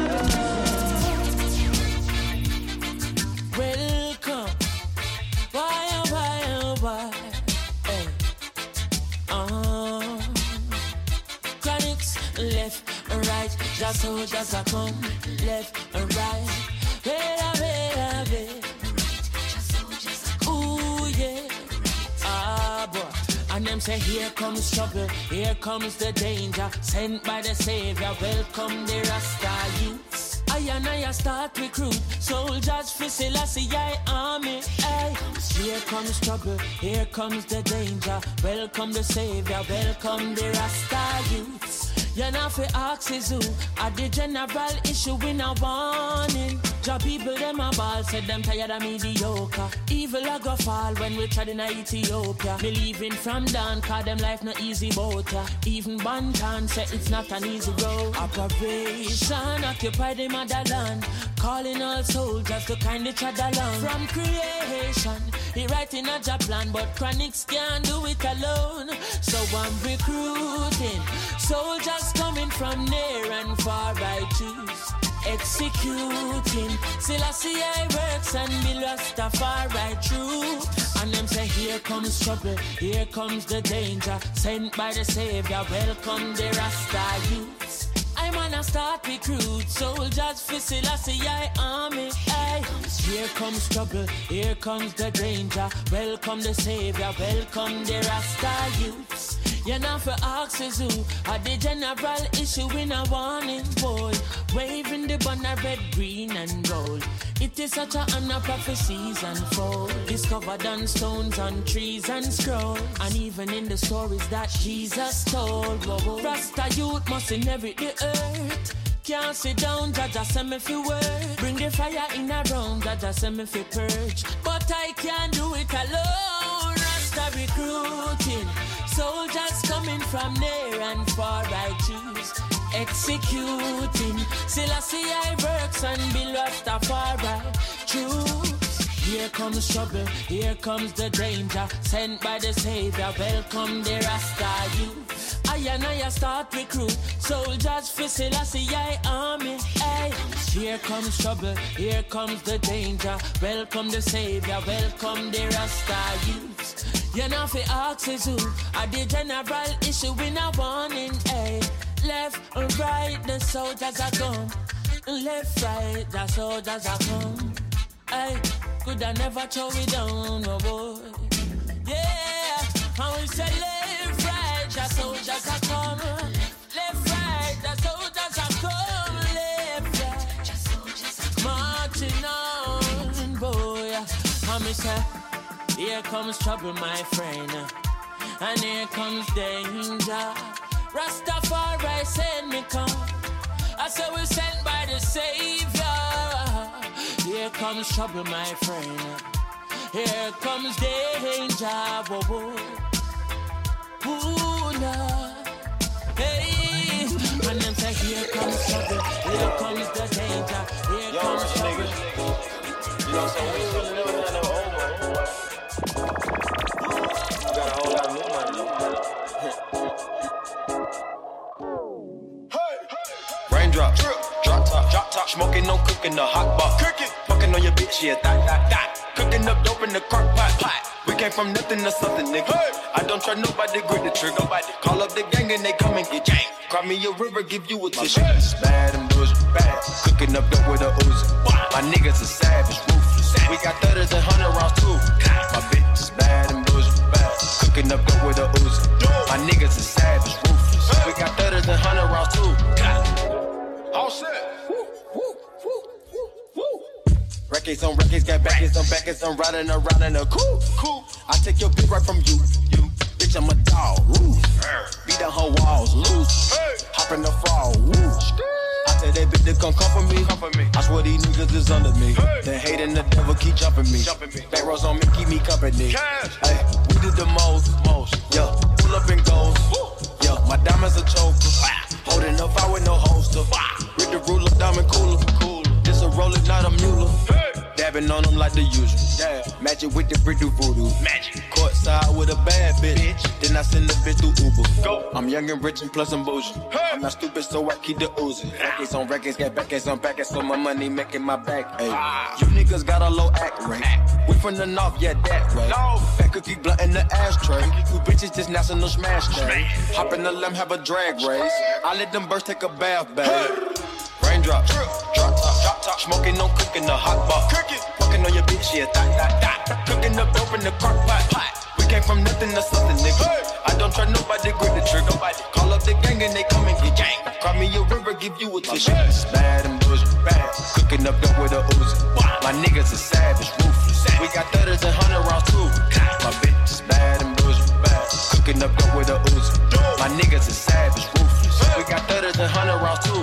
I've been missing. Welcome. Why, hey. Chronics, left and right. Just so just a come. Left and right. Wait. Ooh, yeah. Boy. And them say, here comes trouble, here comes the danger. Sent by the Savior, welcome the Rasta youths. I start recruit soldiers for Selassie army. Ay. Here comes trouble, here comes the danger. Welcome the Savior, welcome the Rasta youths. You know for axes who at the general issue in a warning. Job people them a ball, said them tired of mediocre. Evil a go fall when we tried in Ethiopia. Me leaving from down, cause them life no easy boat ya. Even Bantan said it's not an easy road. Operation occupy the motherland, calling all soldiers to kindly tread along. From creation, he writing a job plan, but Chronics can't do it alone. So I'm recruiting soldiers coming from near and far. I choose executing Selassie works and be Rastafari true. And them say, here comes trouble, here comes the danger. Sent by the Savior, welcome the Rasta youths. I'm gonna start recruit soldiers for Selassie army. Ay. Here comes trouble, here comes the danger. Welcome the Savior, welcome the Rasta youths. You're not for axes who are the general issue in a warning, boy. Waving the banner red, green and gold. It is such a honor prophecies unfold. Discovered on stones, on trees and scrolls. And even in the stories that Jesus told. Whoa. Rasta youth must inherit the earth. Can't sit down, Jaja send me fi word. Bring the fire in a round, Jaja send me fi purge. But I can't do it alone. Rasta recruiting soldiers coming from near and far. I choose executing Selassie works and be Rastafari choose. Here comes trouble, here comes the danger. Sent by the Savior, welcome the Rasta youth. I start recruit soldiers for Selassie army. Ay. Here comes trouble, here comes the danger. Welcome the Savior, welcome the Rasta youth. You know for axes who are the general issue in a warning. Ay. Left and right, the soldiers are gone. Left, right, the soldiers are gone. Ay. Could I never throw it down, oh boy. Yeah, I will say left, right, the soldiers are come. Left, right, the soldiers are come. Left, right, the soldiers are marching on, boy. I me say, here comes trouble, my friend, and here comes danger. Rastafari send me come. I say we're sent by the Savior. Here comes trouble, my friend. Here comes danger. Whoa, whoa. Ooh, nah. Hey, and them say here comes trouble. Here comes the danger. Here comes trouble. You know, so we still living in the old one. You got a whole lot of new money. Raindrop, drop top, smoking, no cooking, the hot pot. Cooking, fucking on your bitch, yeah, that. Cooking up dope in the crock pot. We came from nothing to something, nigga. Hey. I don't try nobody, grip the trigger. Nobody. Call up the gang and they come and get gang. Cry me a river, give you a tissue. It's bad and bullshit, bad. Cooking up dope with a Uzi. My niggas are savage, ruthless. We got 30s and 100 rounds too. My bitch is bad and bullshit, bad. Cooking up dope with a Uzi. My niggas are savage, ruthless. We got 30s and 100 rounds too. All set. Records on records, got backers on backers. I'm riding around in a coupe. I take your bitch right from you. Bitch, I'm a dog. Beat down her walls, loose. Hop in the fall. I Tell that bitch to come comfort me. I swear these niggas is under me. They hating the devil keep jumping me. Back rows on me, keep me company. Hey, we did the most. Yeah, pull up and goes. Yeah, my diamonds a choker. Holding up, I with no holster. With the ruler, diamond cooler. This a roller, not a mule. Dabbing on them like the usual. Yeah. Match it with the brick do voodoo. Magic. Courtside with a bad bitch. Then I send the bitch through Uber. Go. I'm young and rich and plus I'm bougie. Hey. I'm not stupid, so I keep the oozing. Records on records, get backers on backers, so my money making my back. Hey. You niggas got a low act rate. We from the north, yeah, that way. No. Fat cookie blunt in the ashtray. You bitches just national smash day. Hop in the limb, have a drag race. I let them birds take a bath, babe. Raindrops, drop top, smoking, no cooking, the hot pot. Fucking on your bitch, yeah, that. Cooking up dope in the crock pot. We came from nothing to something, nigga. I don't try nobody, grip the trigger. Call up the gang and they come and get gang. Cry me a river, give you a tissue. Bad and bullshit, bad. Cooking up dope with a Uzi. My niggas is savage, ruthless. We got 30s and 100 rounds too. My bitch is bad and bullshit, bad. Cooking up dope with a Uzi. My niggas is savage, ruthless. We got 30s and 100 rounds too.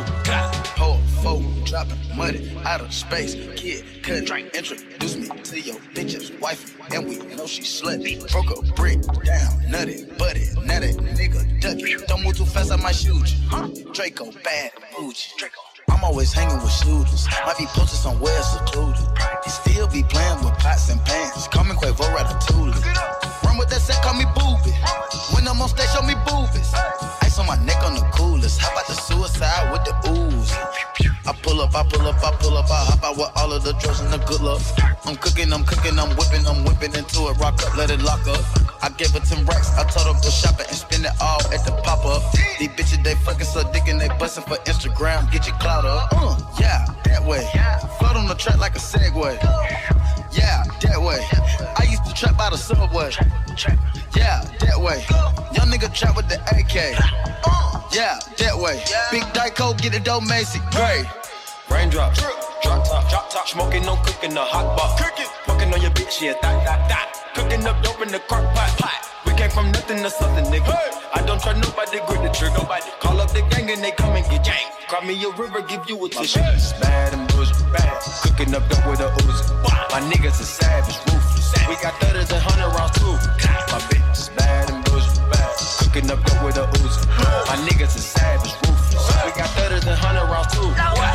Dropping money out of space. Kid, cut, introduce me to your bitch's wife. And we know she slutty. Broke a brick down, nutty, buddy. Now that nigga ducky. Don't move too fast, I might shoot you. Draco, bad, bougie. I'm always hanging with shooters. Might be posted somewhere secluded. They still be playing with pots and pans. Call me Quavo Ratatouille. Run with that set, call me Booby. When I'm on stage, show me boobies. Ice on my neck on the coolest. How about the suicide with the ooze? I pull up, I hop out with all of the drugs and the good luck. I'm cooking, I'm whipping into it, rock up, let it lock up. I gave her 10 racks, I told her go shopping and spend it all at the pop-up. These bitches, they fucking so dick and they bustin' for Instagram, get your clout up. Yeah, that way. Float on the track like a Segway. Yeah, that way. I used to trap by the subway. Yeah, that way. Young nigga trap with the AK. Yeah, that way. Big Dyko, get it dough, Macy. Great. Raindrops, drop top, smoking, no cooking, the hot pot. Fucking on your bitch, yeah, that. Cooking up dope in the crock pot. We came from nothing to something, nigga. I don't try nobody, grip the trigger. Call up the gang and they come and get gang. Cry me a river, give you a tissue. Bad and bullshit, bad. Cooking up dope with a Uzi. My niggas is savage, ruthless. We got 30s and 100 rounds too. My bitch is bad and bullshit, bad. Cooking up dope with a Uzi. My niggas is savage, ruthless. We got 30s and 100 rounds too.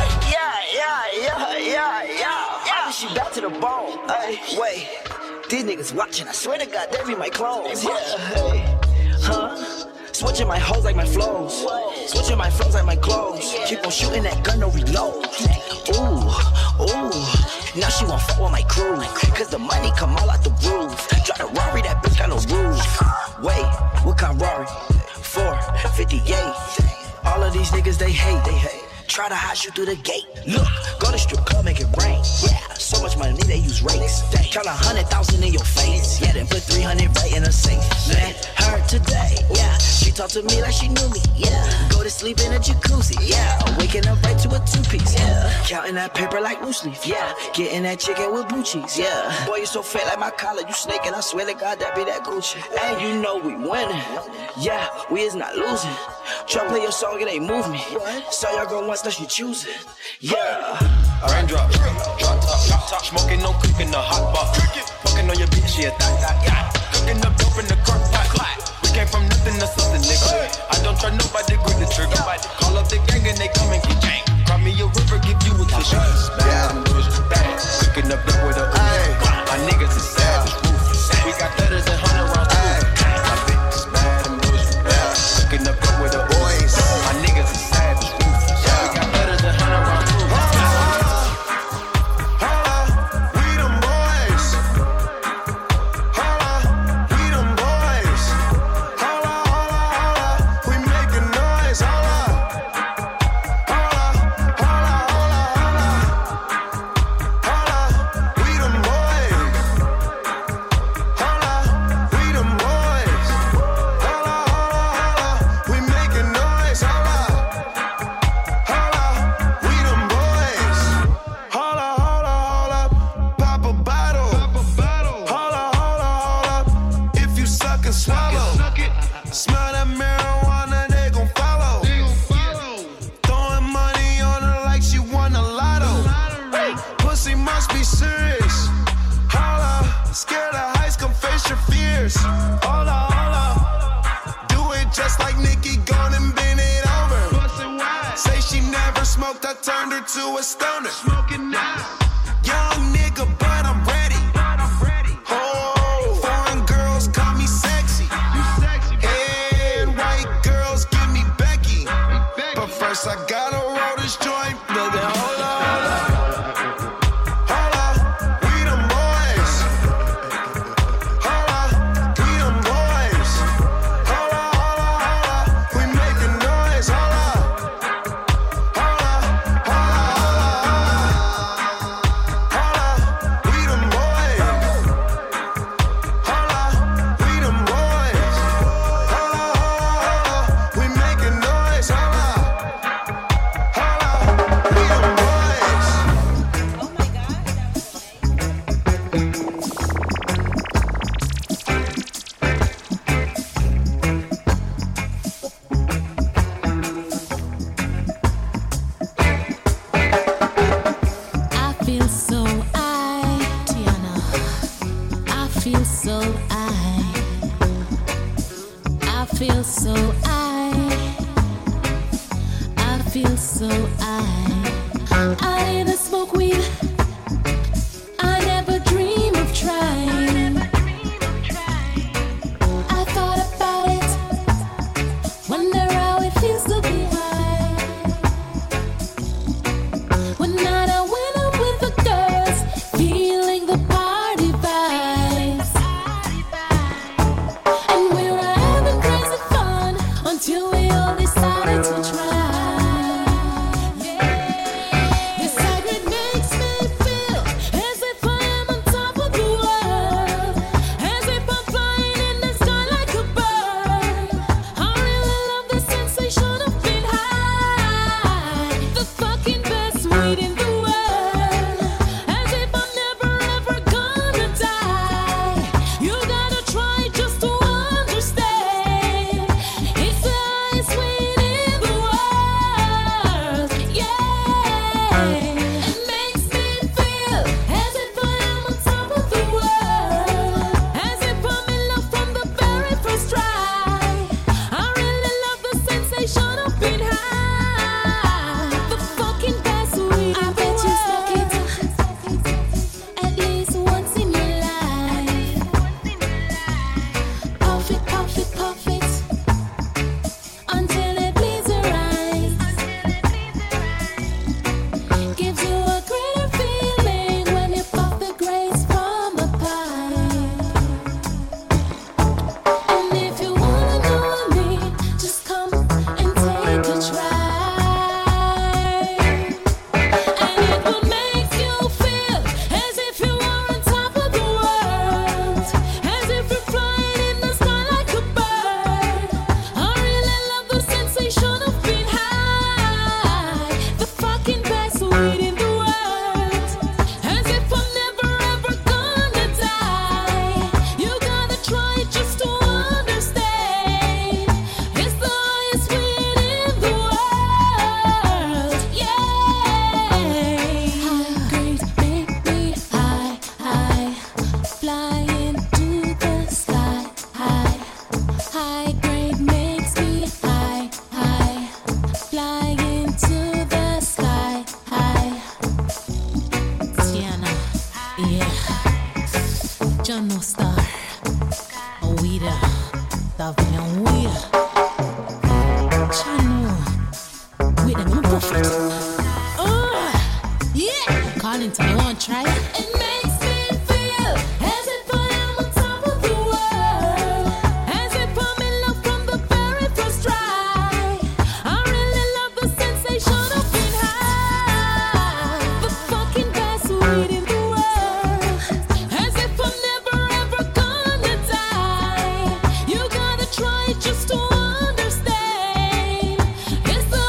Yeah. She back to the bone. Ay, wait, these niggas watching. I swear to God, they be my clones. Yeah, hey, switching my hoes like my flows. Switching my flows like my clothes. Keep on shooting that gun, no reload. Ooh. Now she won't fuck with my crew. Cause the money come all out the roof. Drive a Rari, that bitch got no roof. Wait, what kind of Rari? 458. All of these niggas, they hate. Try to hide you through the gate. Look, go to strip club, make it rain. Yeah, so much money they use rates. Count 100,000 in your face. Yeah, then put 300 right in a safe. Met her today. Yeah, she talked to me like she knew me. Yeah, go to sleep in a jacuzzi. Yeah, waking up right to a 2-piece. Yeah, counting that paper like loose leaf. Yeah, getting that chicken with blue cheese. Yeah, boy you so fat like my collar. You snaking, I swear to God that be that Gucci. And you know we winning. Yeah, we is not losing. Try play your song, it ain't move me. Saw your girl once, now she choosing. Yeah. Raindrops, drop top, smoking, no cooking, the hot pot. Fucking on your bitch, yeah, that. Cooking up dope in the crock pot. We came from nothing to something, nigga. I don't try nobody, grip the trigger. Call up the gang and they come and get gang. Cry me a river, give you a tissue. Bad and bullshit, bad. Cooking up dope with a Uzi. My niggas is savage, ruthless. We got 30s and 100 rounds too. My bitch is bad and bullshit, bad. Cooking up dope with a Uzi. My niggas is savage, ruthless. We got 30s and 100 rounds too. smoked, I turned her to a stoner. Smoking now. Young nigga, but I'm ready. Oh, foreign girls call me sexy. And white girls give me Becky. But first I gotta roll this joint, baby. Hold on.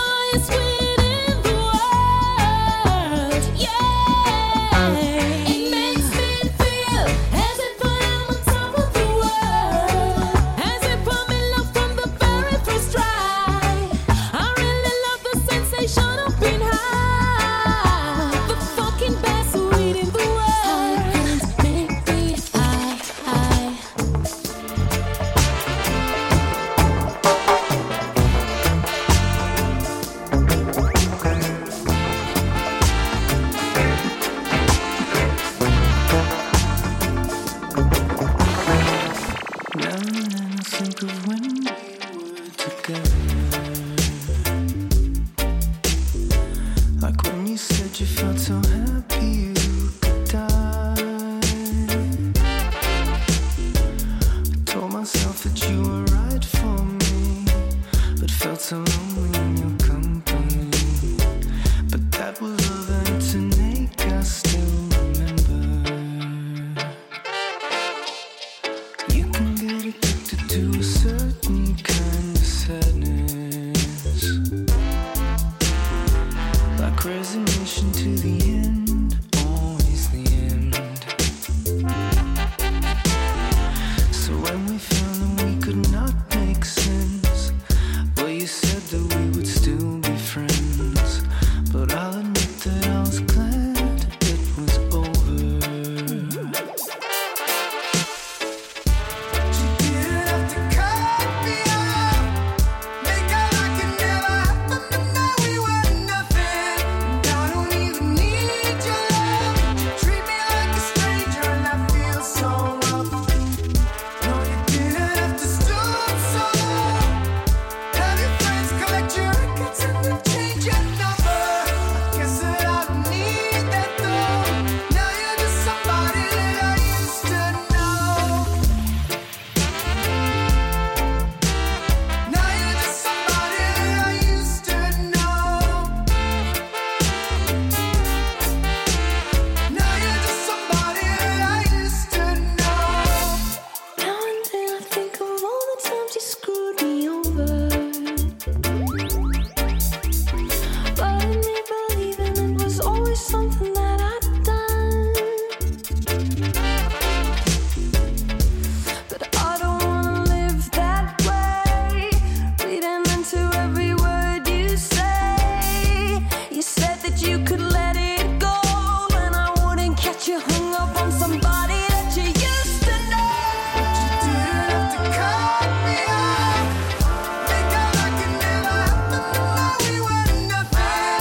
Yeah. you felt so happy you could die. I told myself that you were right for me, but felt so lonely in your company. But that was love and to make us still remember. You can get addicted to a certain kind of sadness, like resignation to the end, always the end. So when we found that we could not make sense, well, you said that we would still be friends. But I'll admit that I was glad it was over. You didn't have to cut me off, make out like it never happened, but now we were nothing. And I don't even need your love. You treat me like a stranger and I feel so rough. No, you didn't have to stoop so low. Have your friends collect your records and then change your number. I guess that I don't need that though. Now you're just somebody that I used to know. Now you're just somebody that I used to know. Now you're just somebody that I used to know. Now and then I think of all the times you screwed me over, but in me believing it was always something that I'd done. But I don't wanna live that way, reading into every word you say. You said that you could let it go, and I wouldn't catch you hung up on somebody that you used to know. But you didn't have to cut me off, make out like it never happened, but now we were nothing.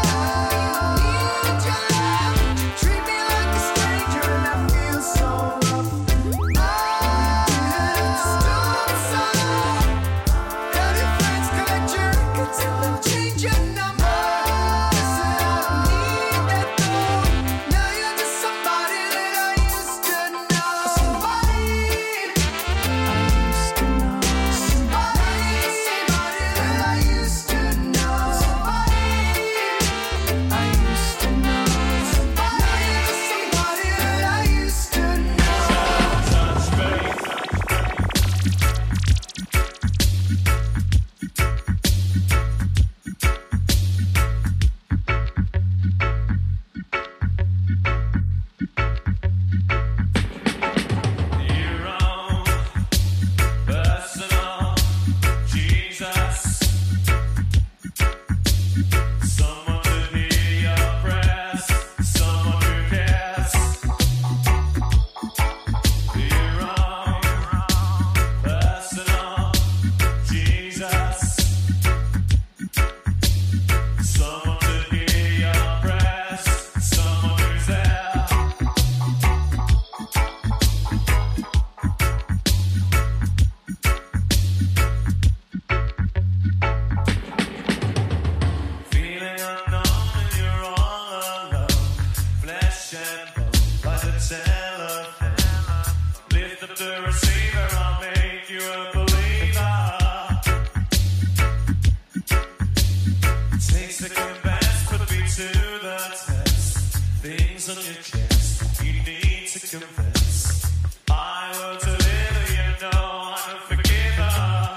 Need your love, you treat me like a stranger and I feel so rough. Didn't have to stoop so low. Have your friends collect your records and then change your number. Guess that I don't need that though. Now you're just somebody that I used to know. Somebody I used to know. Somebody that I used to know. Somebody I used to know. Now you're just somebody that I used to know. Personal Jesus, someone to hear your prayers, someone who cares. Your own personal Jesus, someone to hear your prayers, someone who's there. Feeling unknown and you're all alone, flesh and bone by the telephone. Lift up the receiver, I'll make you a believer. Take second best, put me to the test. Things on your chest, you need to confess. I will deliver, you know I'm a forgiver.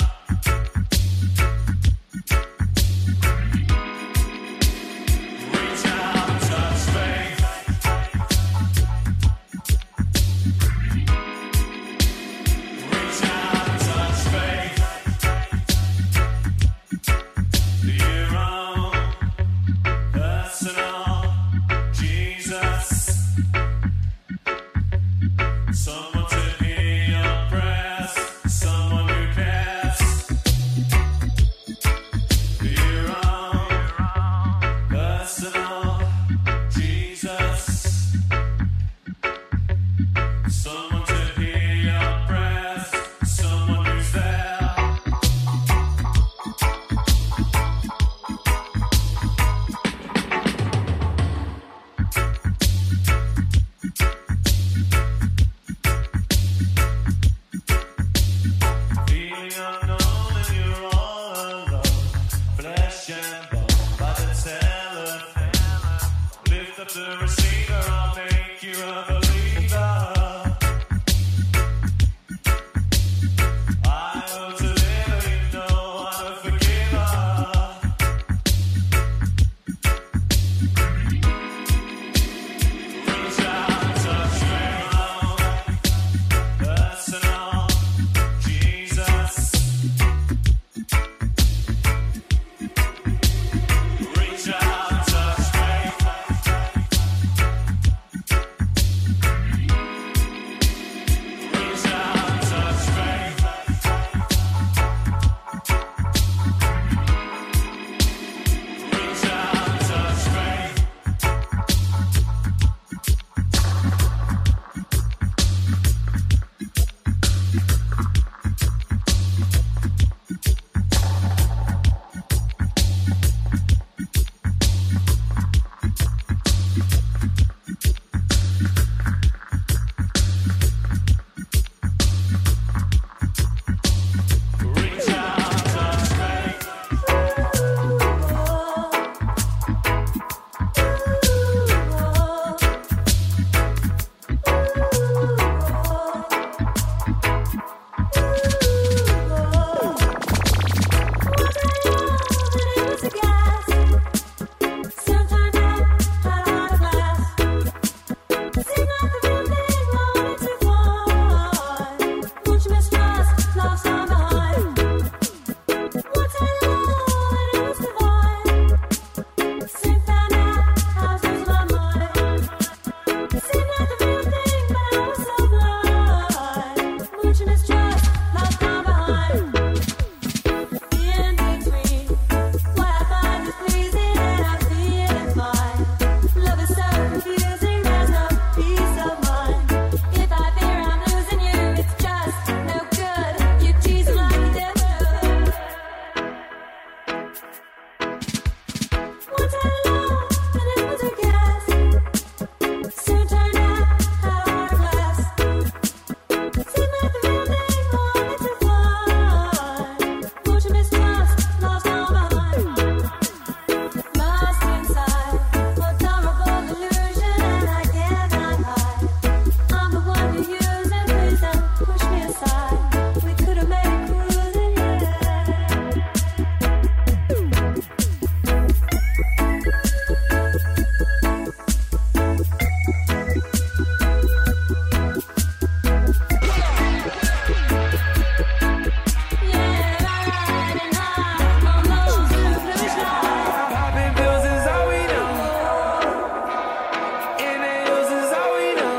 Reach out, touch faith. Reach out, touch faith. Your own personal Jesus. cellophane. Lift up the receiver, I'll make you a believer. I will deliver, you know I'm a forgiver. Reach out, touch me, personal, Jesus. Reach out, touch me. Reach out, touch me. Reach out, touch me. Reach out, touch me. Popping pills is all we know. Inhales is all we know.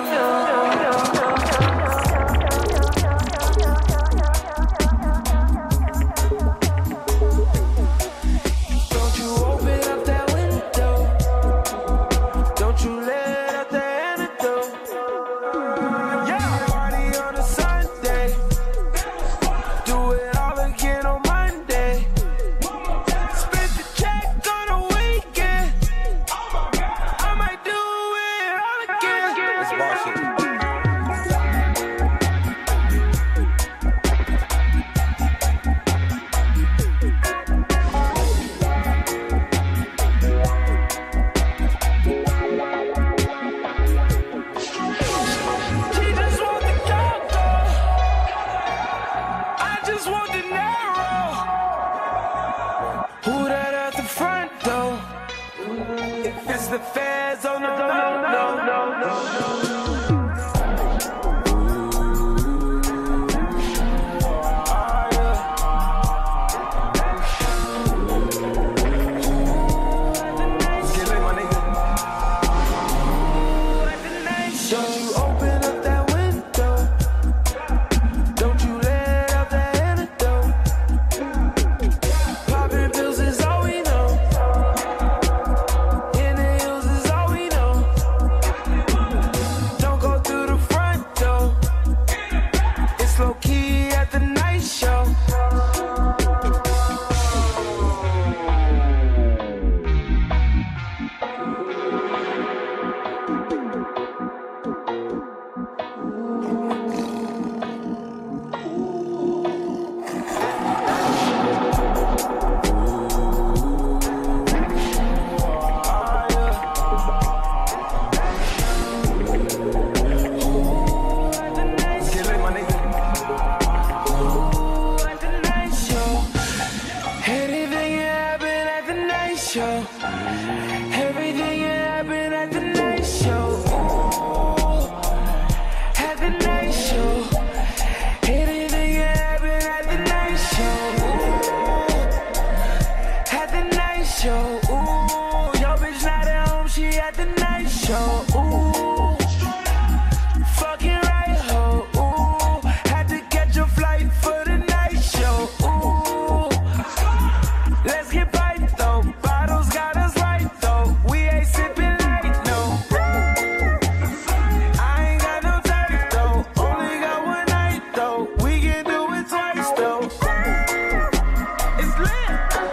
Don't you open up that window. Don't you let out the antidote. Yeah, party on a Sunday. Do it all again on Monday. Spend the check on a weekend. I might do it all again. It's bullshit. She just want the cocoa. I just want the narrow. Who that at the front door? If it's the feds, oh no, no, no, no, no. Don't you open up that window. Don't you let out the antidote. Popping pills is all we know. Inhales is all we know. Everything that happened at the night show. Ooh, at the night show. Anything that happened at the night show. Ooh, at the night show. Ooh, your bitch not at home, she at the night show. Ooh, fucking right ho. Ooh, had to catch a flight for the night show. Ooh, let's get piped though. Bottles got us right though. We ain't sipping light no. I ain't got no type though. Only got one night though. We can do it twice though. It's lit.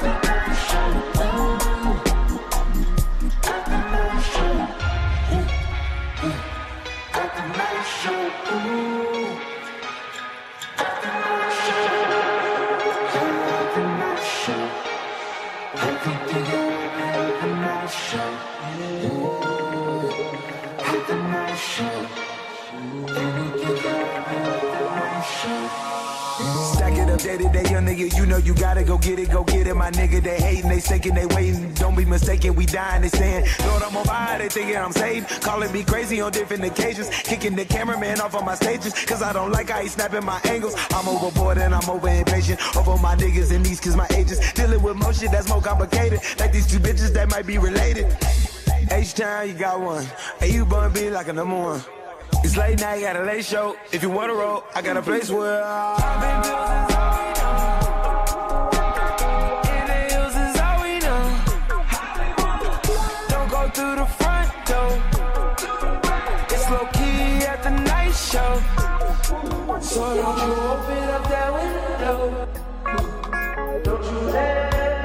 Stack it up day to day, young nigga. You know you gotta go get it, my nigga. They hating, they thinking, they waiting. Don't be mistaken, we dying, they saying, Lord, I'm on fire, they thinking I'm saved. Calling me crazy on different occasions. Kicking the cameraman off on my stages, cause I don't like how he snapping my angles. I'm overboard and I'm over impatient. Over my niggas and these cause my ages. Dealing with more shit that's more complicated. Like these two bitches that might be related. H-Town, you got one. Hey, you bun be like a number one. It's late night, got a late show. If you wanna roll, I got a place where I've been built since all we know. In the hills is all we know. Don't go through the front door. It's low key at the night show. So don't you open up that window. Don't you let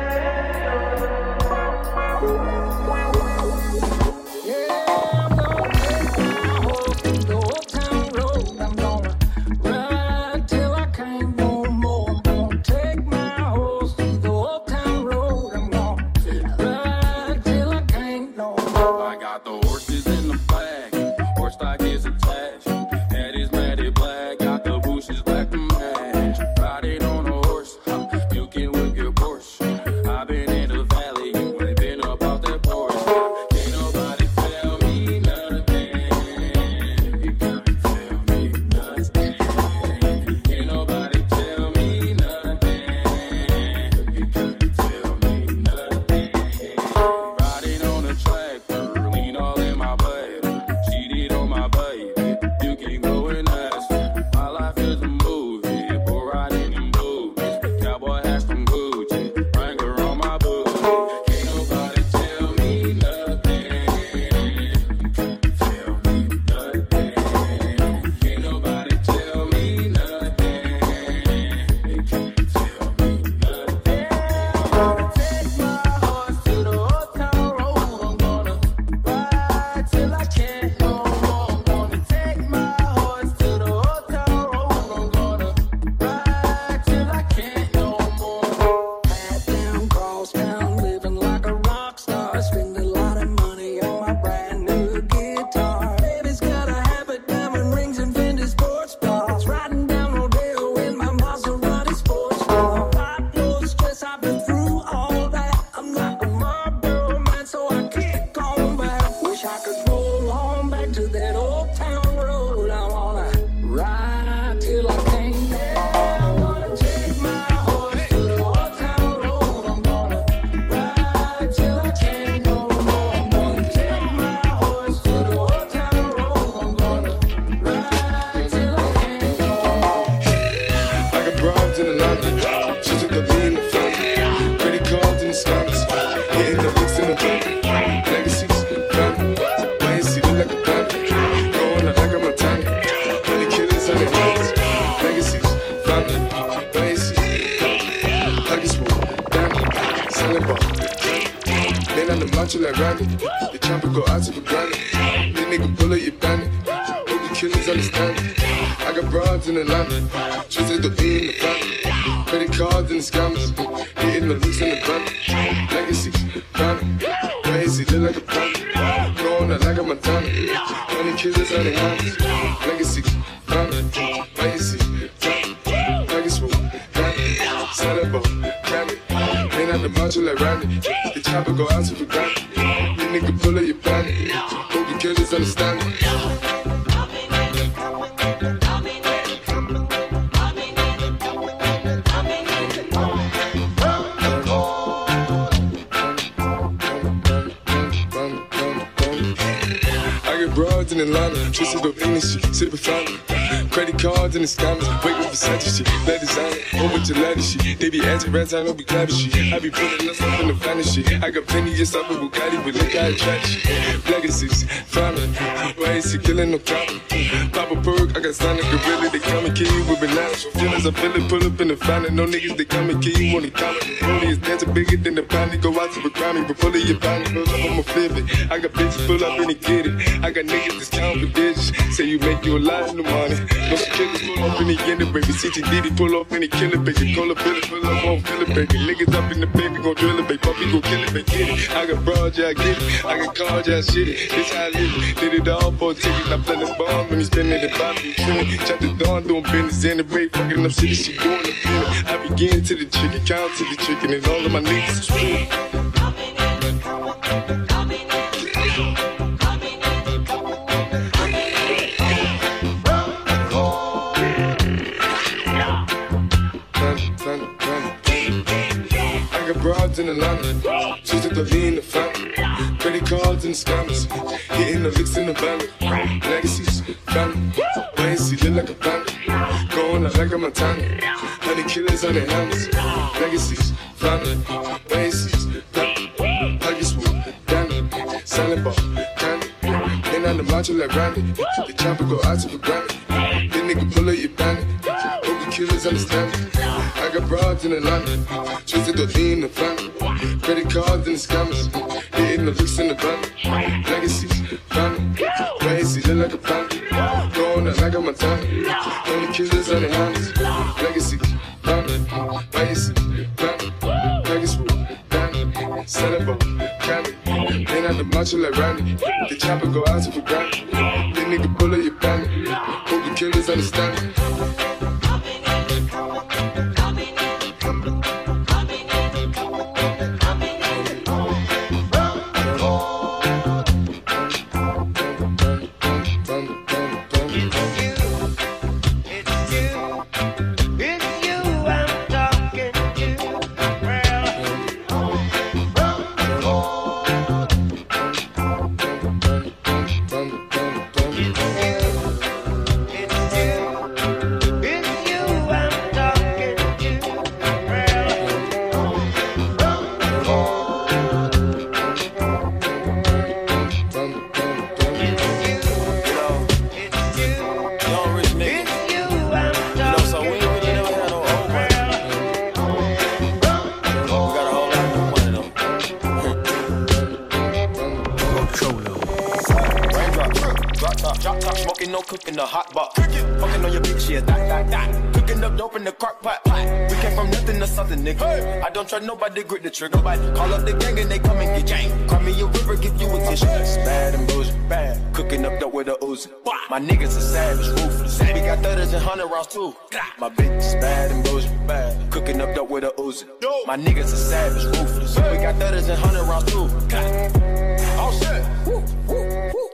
macho like Randy. The champion go out to the granny. The nigga bullet, you bandit. Hope the killers understand it. I got broads in Atlanta. Twisted the beat in the family. Credit cards and the scammers. Hitting the loose in the van. Legacy, family. Crazy, look like a panda. Going out like a Montana. 20 killers on the hands. Legacy, family. Legacy, family. Legacy, family. Set up, family. Ain't at the macho like Randy. The chopper go out to the ground. You nigga pull up your body. Hope the killers understand it. Broads in Atlanta, twisted up in this shit, sippin' fountain. Credit cards in the scammers, wait with Versace shit, let designer, over to ladder shit. They be acting rats, I don't be clapping shit. I be putting us up in the finest shit. I got plenty just up with Bugatti, but look how I track shit. Legacies, family, why is he killing no copper? Pop a perk, I got Sonic Gorilla, they come and kill you with bananas. Feelings I feel it, pull up in the fountain. No niggas, they come and kill you on the comment. Only is dancing bigger than the pound, go out to the Grammy, but pull it your pound, pull up, I'ma flip it. I got bitches pull up and they get it. I got niggas that's counting for digits. Say you make you a lot in the money. No killers pull up in the end, baby. CTDD pull up in the killer, baby. Call up, pull up, won't feel it, baby. Niggas up in the baby, gon' drill it, baby. Puppy gon' kill it, baby. Get it. I got broad, yeah, I get it. I got cards, yeah, I shit it. This how I live it. Did it all for a ticket. I'm playing bomb when he spinning the body. Trinity. Chop the dawn, doing business in the break. Fucking up shit, she doing the feeling. I begin to the chicken, count to the chicken, and all of my niggas is free. Broads in Atlanta, choosing to be in the family. Credit cards and the scammers, hitting the licks in the van. Legacies, family, wait, see, look like a panda. Going out like a Montana, honey killers on their helmets. Legacies, family, wait, see, family. Pockets full, dandy, selling ball, candy. Ain't on the macho like Randy, the chopper go out to the granny. This nigga pull up your bandit, hope the killers understand it. I got broads in Atlanta, twisted to be in the family. Credit cards and the scammers, hitting the licks in the van. Legacies, family, crazy, look like a panda. Going out like a Montana, only killers on the hands. Legacies, family, crazy, family, Vegas full, dandy, selling ball, candy. Ain't on the macho like Randy, the chopper go out to the granny. This nigga pull up your bandit, hope the killers understand it. In the hot box, fucking on your bitch, yeah, that. Cooking up dope in the crock pot. We came from nothing to something, nigga. I don't try nobody, grip the trigger. Call up the gang and they come and get gang. Cry me a river, give you a tissue. Bad and bullshit, bad. Cooking up dope with a Uzi. My niggas are savage, ruthless. We got 30s and 100 rounds too. My bitch is bad and bullshit, bad. Cooking up dope with a Uzi. My niggas are savage, ruthless. We got 30s and 100 rounds too. Oh shit. Woo, woo, woo.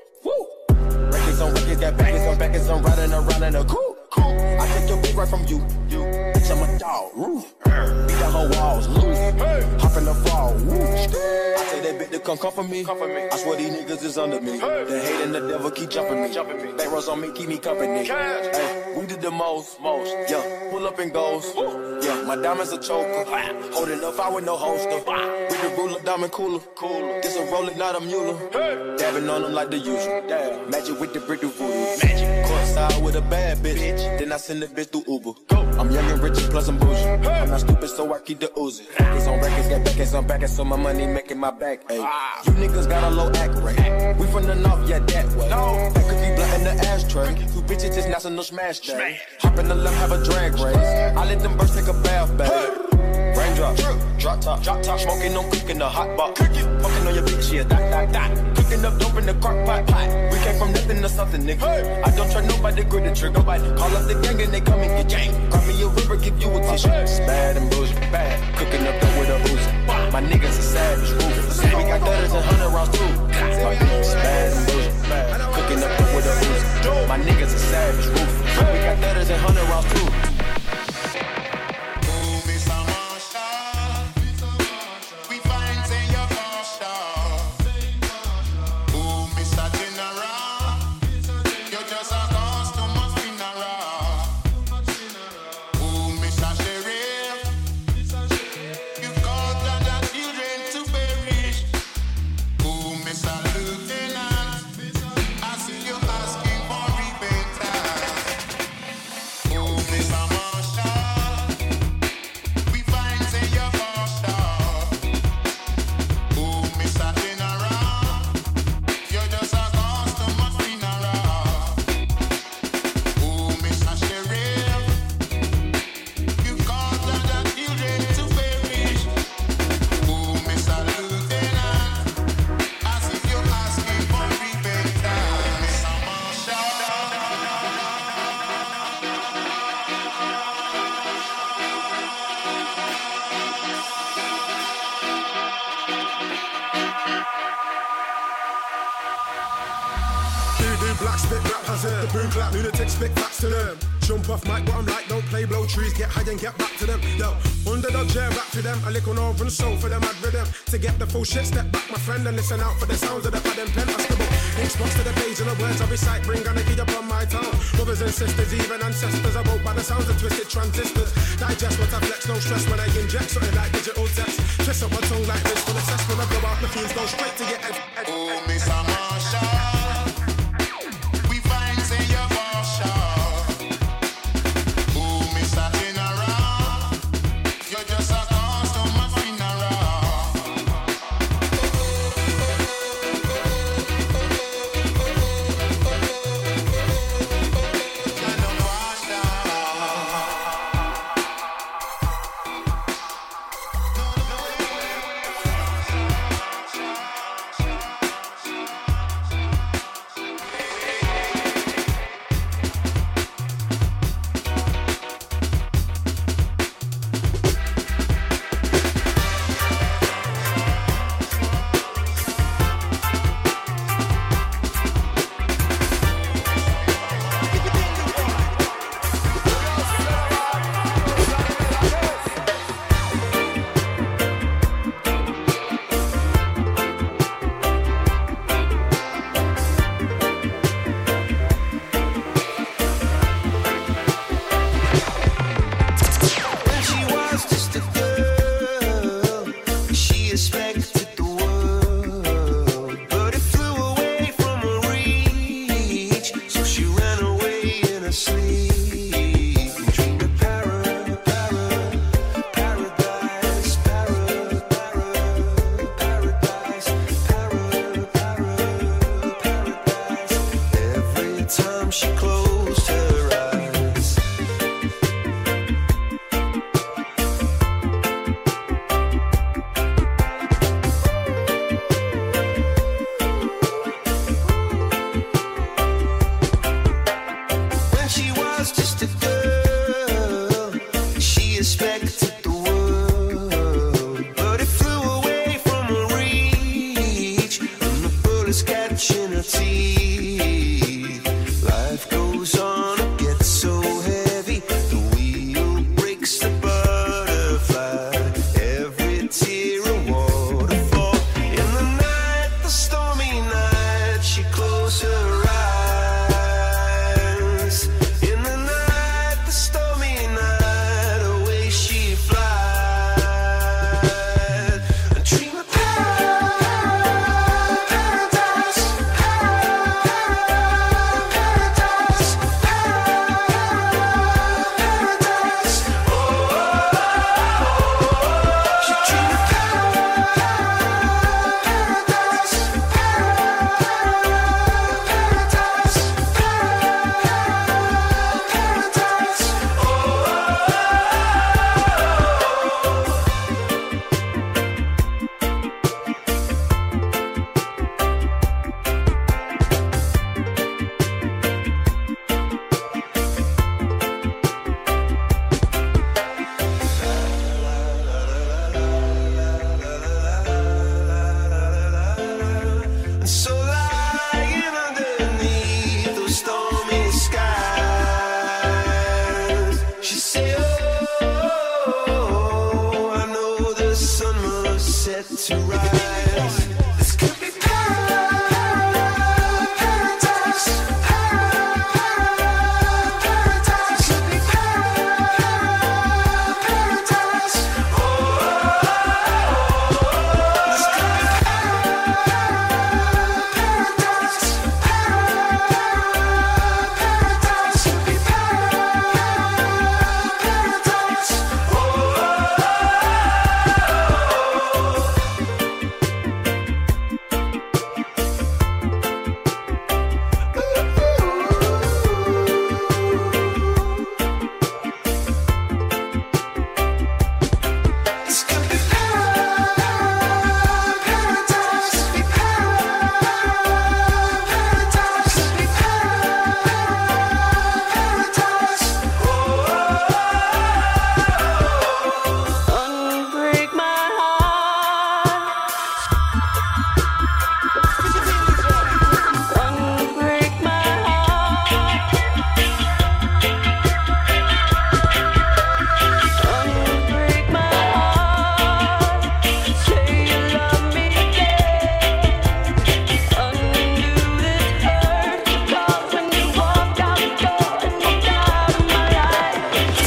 On records, got baggers on backers, I'm riding around in a coupe. I take your bitch right from you. Bitch, I'm a dog. Beat down her walls, loose. Hop in the fall. I say that bitch to come for me. I swear these niggas is under me. The hate and the devil keep jumping me. Back rows on me, keep me company. Hey, we did the most. Yeah, pull up and goes. Yeah, my diamonds a choker. Holding up, I with no holster. With the ruler, diamond cooler. This a roller, not a mule. Dabbing on them like the usual. Magic with the brick do voodoo. Courtside with a bad bitch. Then I send the bitch through Uber. I'm young and rich and plus I'm bougie. I'm not stupid, so I keep the Uzi. It's on records, got backers on backers, so my money making my back. Ay. You niggas got a low act rate. We from the north, yeah, that way. That could be blunt in the ashtray. You bitches just national smash day. Hop in the left, have a drag race. I let them birds take a bath, babe. Raindrop, drop top, smoking on cooking the hot box. Fucking on your bitch, yeah, that. Cooking up dope in the crock pot. We came from nothing to something, nigga. I don't try nobody, grip the trigger. Call up the gang and they come and get gang. Cry me a river, give you a tissue. Bad and bullshit, bad. Cooking up dope with a Uzi. My niggas are savage, ruthless. We got gutters and 100 rounds too. My bitch bad and bullshit. Cooking up with a Uzi. My niggas are savage, ruthless. We got gutters and 100 rounds too. Black spit rap hazard, the boom clap, lunatics spit facts to them. Jump off mic, what I'm like, don't play, blow trees, get high and get back to them. Yo, underdog chair back to them, a lick on over and soul for them, I'd rhythm. To get the full shit, step back, my friend, and listen out for the sounds of the pad and pen. Ink spots to the page and the words I recite, bring anarchy up on my tongue. Brothers and sisters, even ancestors, I woke by the sounds of twisted transistors. Digest what I flex, no stress when I inject something like digital text. Twist up my tongue like this, full of cess when I blow out the fumes, go straight to get edge. Oh, Miss Marsha. And so lying underneath those stormy skies, she said, oh, I know the sun must set to rise. This could be paradise, paradise, paradise, could be paradise. Oh, this could be paradise, paradise, could be paradise. Oh. This could be paradise, be paradise, be paradise. Unbreak my heart. Unbreak my heart. Unbreak my heart. Say you love me again. Undo this hurt. 'Cause when you walked out the door and walked out of my life,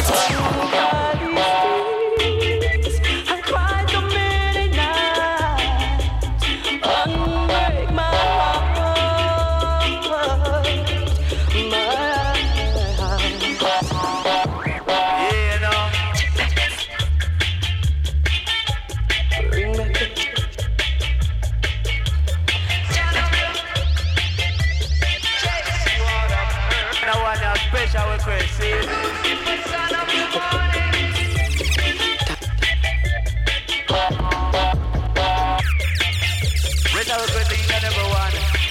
I cried so many nights. Unbreak my heart, my heart. Yeah, no. Bring back the No one else special request, see? Special request to each and every one.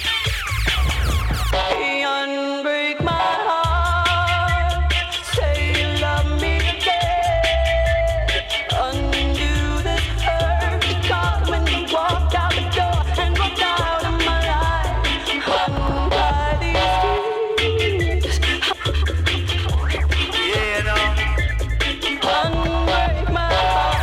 Unbreak my heart. Say you love me again. Undo this hurt. 'Cause when you walked out the door and walked out of my life, undry these tears. Yeah, no. Unbreak my heart.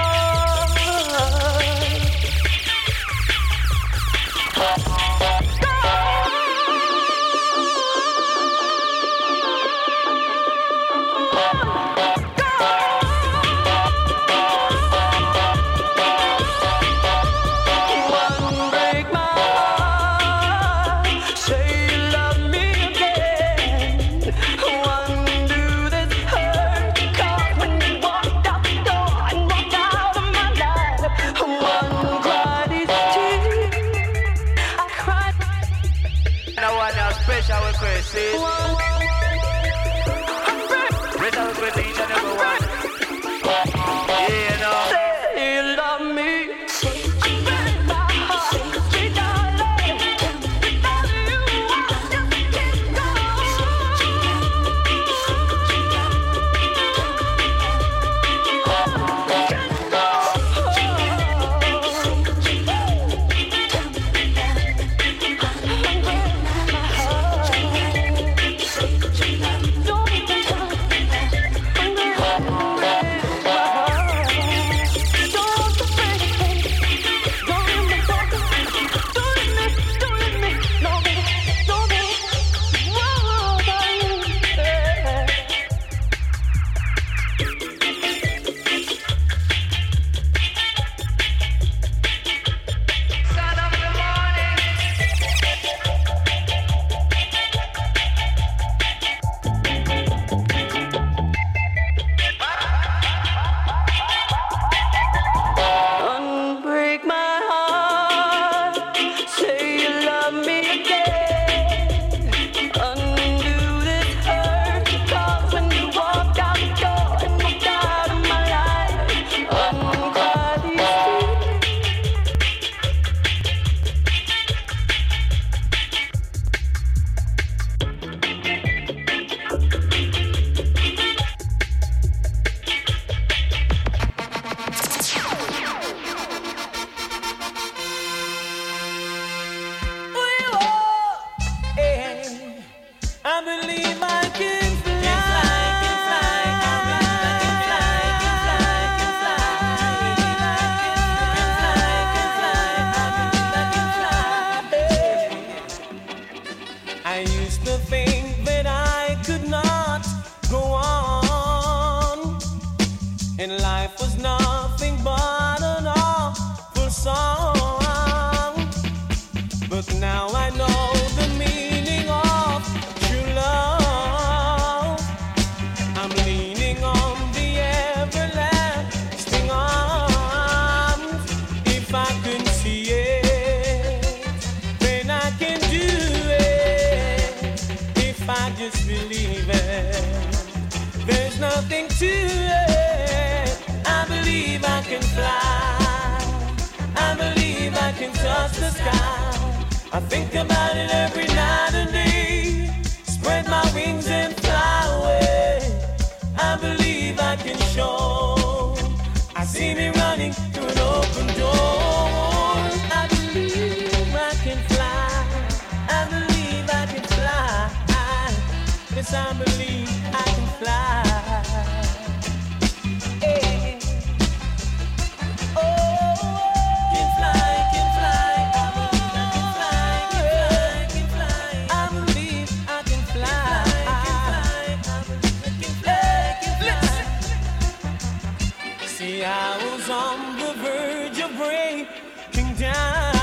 Unbreak my heart. Say you love me again. Undo this hurt. 'Cause when you walked out the door and walked out of my life, undry these tears. I cried. No one else special request, see? Special request to each and every one. Yeah, no. Say you love me. Unbreak my heart. Sweet darling. Without you, I just can't go. Unbreak my heart. but now I know the meaning of true love. I'm leaning on the everlasting arms. If I can see it, then I can do it. If I just believe it, there's nothing to it. I believe I can fly. I believe I can touch the sky. I think about it every night and day. Spread my wings and fly away. I believe I can show. I see me running through an open door. I believe I can fly. I believe I can fly. Yes, I believe I can fly. Hey. Oh, can fly, can fly. I believe I can fly, can fly, can fly. I believe I can fly. See, I was on the verge of breaking down.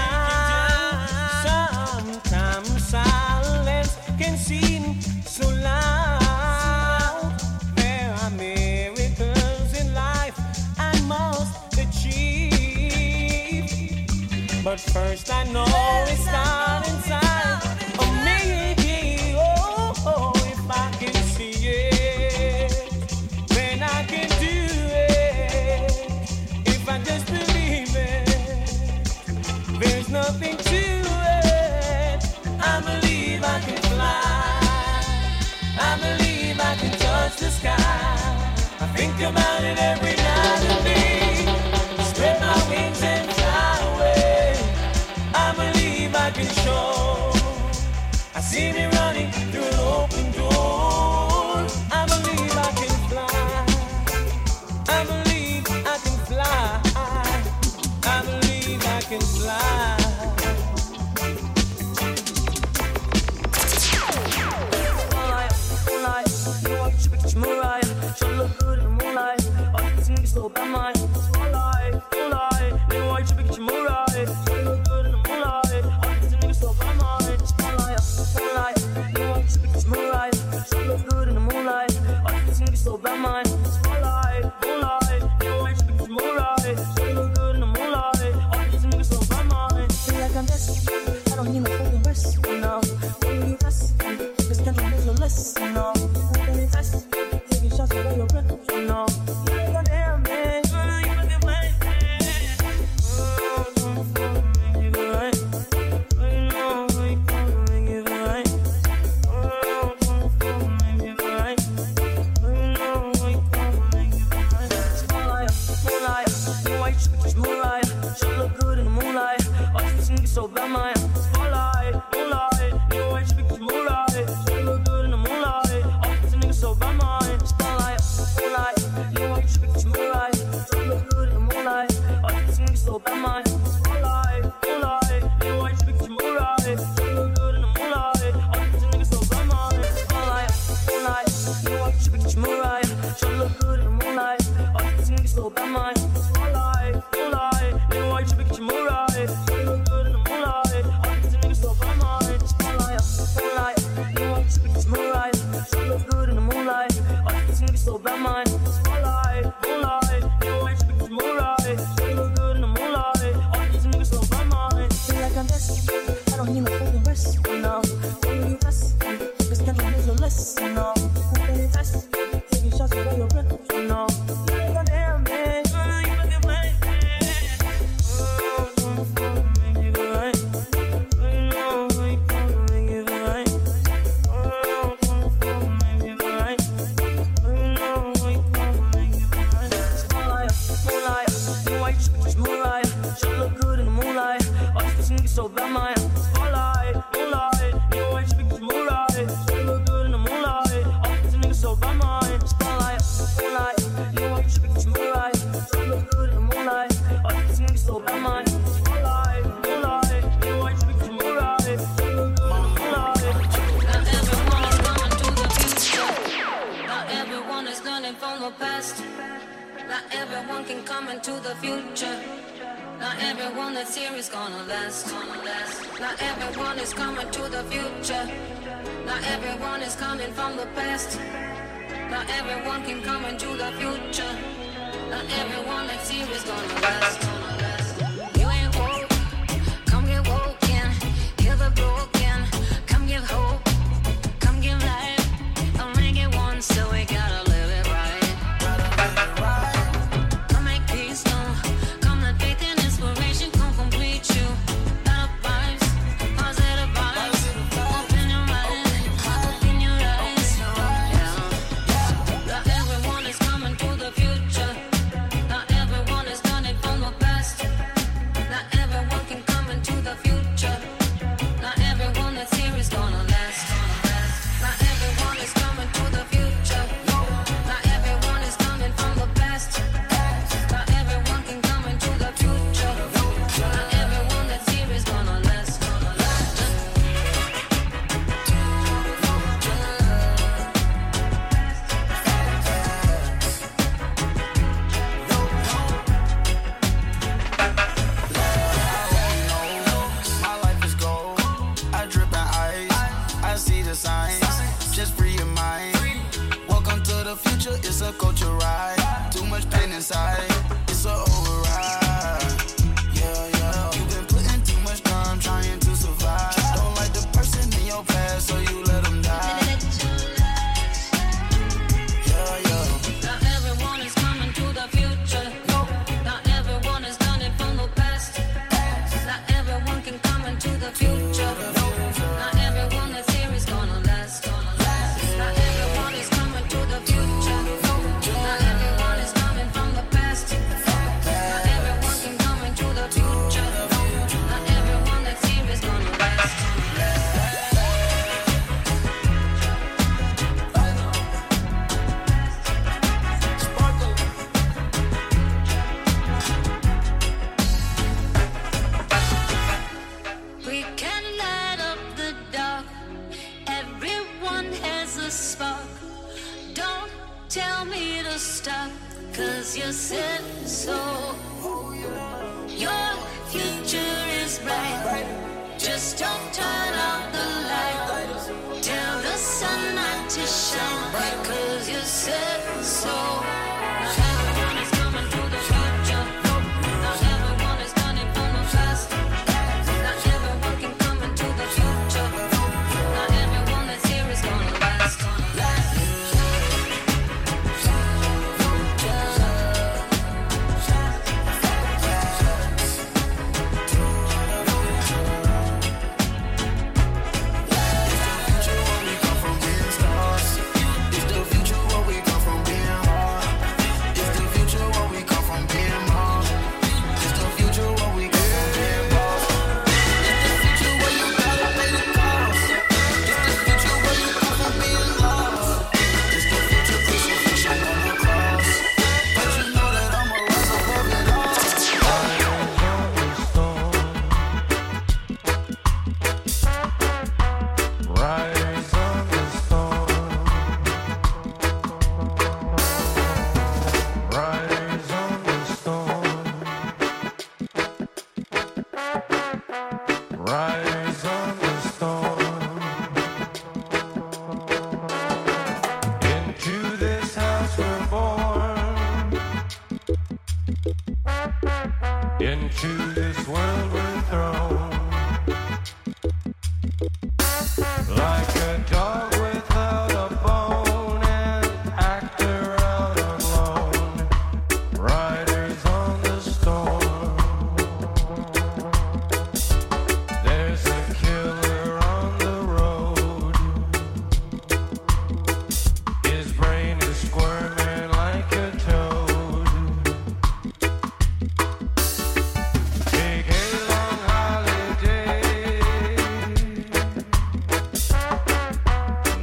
Sometimes silence can seem so loud. There are miracles in life I must achieve. But first I know it's not inside of me. Oh, if I can see it, then I can do it. If I just believe it, there's nothing to it. I believe I can fly. I believe I can touch the sky. I think about it every night and day. Spread my wings and fly away. I believe I can show. I see me running through an open door. I believe I can fly. I believe I can fly. I believe I can fly. Mariah, she look good in the moonlight. All you think is so bad, mine. Moonlight, moonlight. Then why you pick your Mariah? She look good in the moonlight. All you think is so bad, mine. Moonlight, moonlight. Then why you pick your Mariah? She look good in the moonlight. All you think is so bad, mine. Moonlight, moonlight. Then why you pick your Mariah? She look good in the moonlight. All you think is so bad, mine. Feel like I'm desperate. I don't need no fucking rest, you know. When you rest, this country is a lesson, you know. Taking shots away your breath, you know. You ain't gonna hear me, you fucking play. Make it right. You know, make it right. Make it right. You know, make it right. Moonlight, moonlight. You know why you should be moonlight. She look good in the moonlight. All you think is so bad, man. Moonlight, moonlight. You know why you should be moonlight. She look good in the moonlight. All you think is so bad, man. Moonlight, you know you should be moonlight. You look good in the moonlight. All you think is so bad, man. Moonlight, moonlight, you know you should be moonlight. You look good in the moonlight. All you think is so bad, man. Moonlight, moonlight, you know you should be moonlight. You look good in the moonlight. All you think is so bad, man. Moonlight, moonlight, you know you should be moonlight. You look good in the moonlight. All you think is so bad, man. Moonlight, moonlight, you know you should be moonlight. You look good in the moonlight. All you think is so bad, man. Moonlight, moonlight, you know I should be moonlight. You look good in the moonlight. All you think is so bad, man. Feel like I'm desperate. I don't need no fucking rest, you know. When you rest, this country is a lesson, you know. When you rest, taking shots away your breath, you know. You ain't gonna hear me, you fucking play. Make it right. You know, make it right. Make it right. Moonlight, you know why you should be moonlight. She look good in the moonlight. All you think is so bad, man. Moonlight, moonlight, you know why you should be moonlight. She look good in the moonlight. All you think is so bad, man. Spotlight, moonlight, you know why you should be moonlight. She look good in the moonlight. All you think is so bad, man. Spotlight, moonlight, you know why you should be moonlight. She look good in the moonlight. Not everyone is learning from the past. Not everyone can come into the future. Not everyone that's here is gonna last. Not everyone is coming to the future. Not everyone is coming from the past. Not everyone can come into the future. Not everyone that's here is gonna last. You ain't woke, come get woken. Heal the broken, come give hope, come give life. Only get one, so we gotta live it right. Come make peace known. Come let faith and inspiration come complete you. Better vibes, positive vibes. Open your mind, open your eyes. Yeah. Not everyone is coming to the future. Not everyone is coming from the past. Not everyone can come into the future. Not everyone that's here is gonna last. Not everyone is coming to the future. Not everyone is coming from the past. Not everyone can come into the future. Not everyone that's here is gonna last. My life is gold. I drip in ice. I see the signs. Just free your mind. Welcome to the future. It's a culture ride. Too much pain inside. It's a override. Yeah, yeah. You've been putting too much time trying to survive. Don't like the person in your past, so you let them die. Yeah, yeah. Not everyone is coming to the future. Not everyone is done it from the past. Not everyone can come into the future. Not everyone that's here is gonna last. Not everyone is coming to the future. Not everyone is coming from the past. Not everyone can come into the future. Not everyone that's here is gonna last. We can light up the dark. Everyone has a spark. Don't tell me to stop, 'cause you said so. Your future is bright. Just don't turn out the light. Tell the sun not to shine, 'cause you said so. Not everyone is coming to the future. Not everyone is coming from the past. Not everyone can come into the future. Not everyone that's here is gonna last. Rise on the storm. Into this house we're born. Into this world we're thrown. Like a dog without a bone, an actor out on loan. Riders on the storm. There's a killer on the road. His brain is squirming like a toad. Take a long holiday.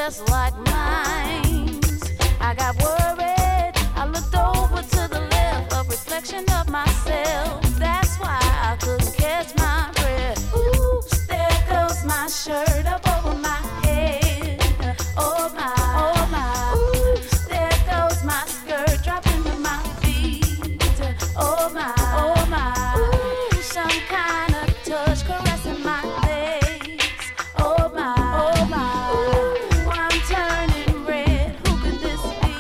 just like mine. I got worried. I looked over to the left, a reflection of myself. That's why I couldn't catch my breath. Ooh, there goes my shirt up over my head. Oh my, oh my. Ooh, there goes my skirt dropping to my feet. Oh my, oh my. Ooh, some kind of touch caressing my legs. Oh my, oh my. Ooh, I'm turning red. Who could this be?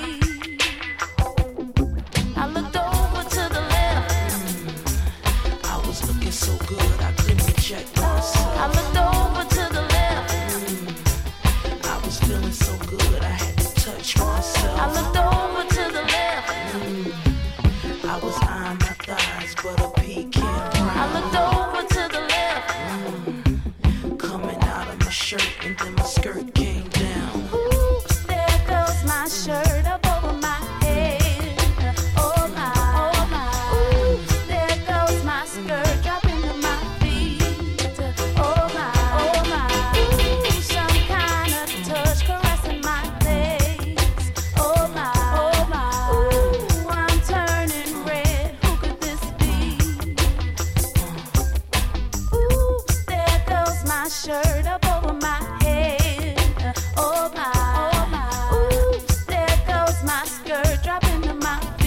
I looked over to the left. I was looking so good, I couldn't check myself. I looked over to the left. I was feeling so good, I had to touch myself. I looked over to the left. I was eyeing my thighs, but a pecan brown. I looked over to the left. Coming out of my shirt, and then my skirt came down. Ooh, there goes my shirt up over my head. Oh my, oh my. Ooh, there goes my skirt dropping to my feet. Oh my, oh my. Ooh, some kind of touch caressing my legs. Oh my, oh my. Ooh, I'm turning red. Who could this be? Ooh, there goes my shirt up over my head. Oh my, oh my. Ooh, there goes my skirt dropping to my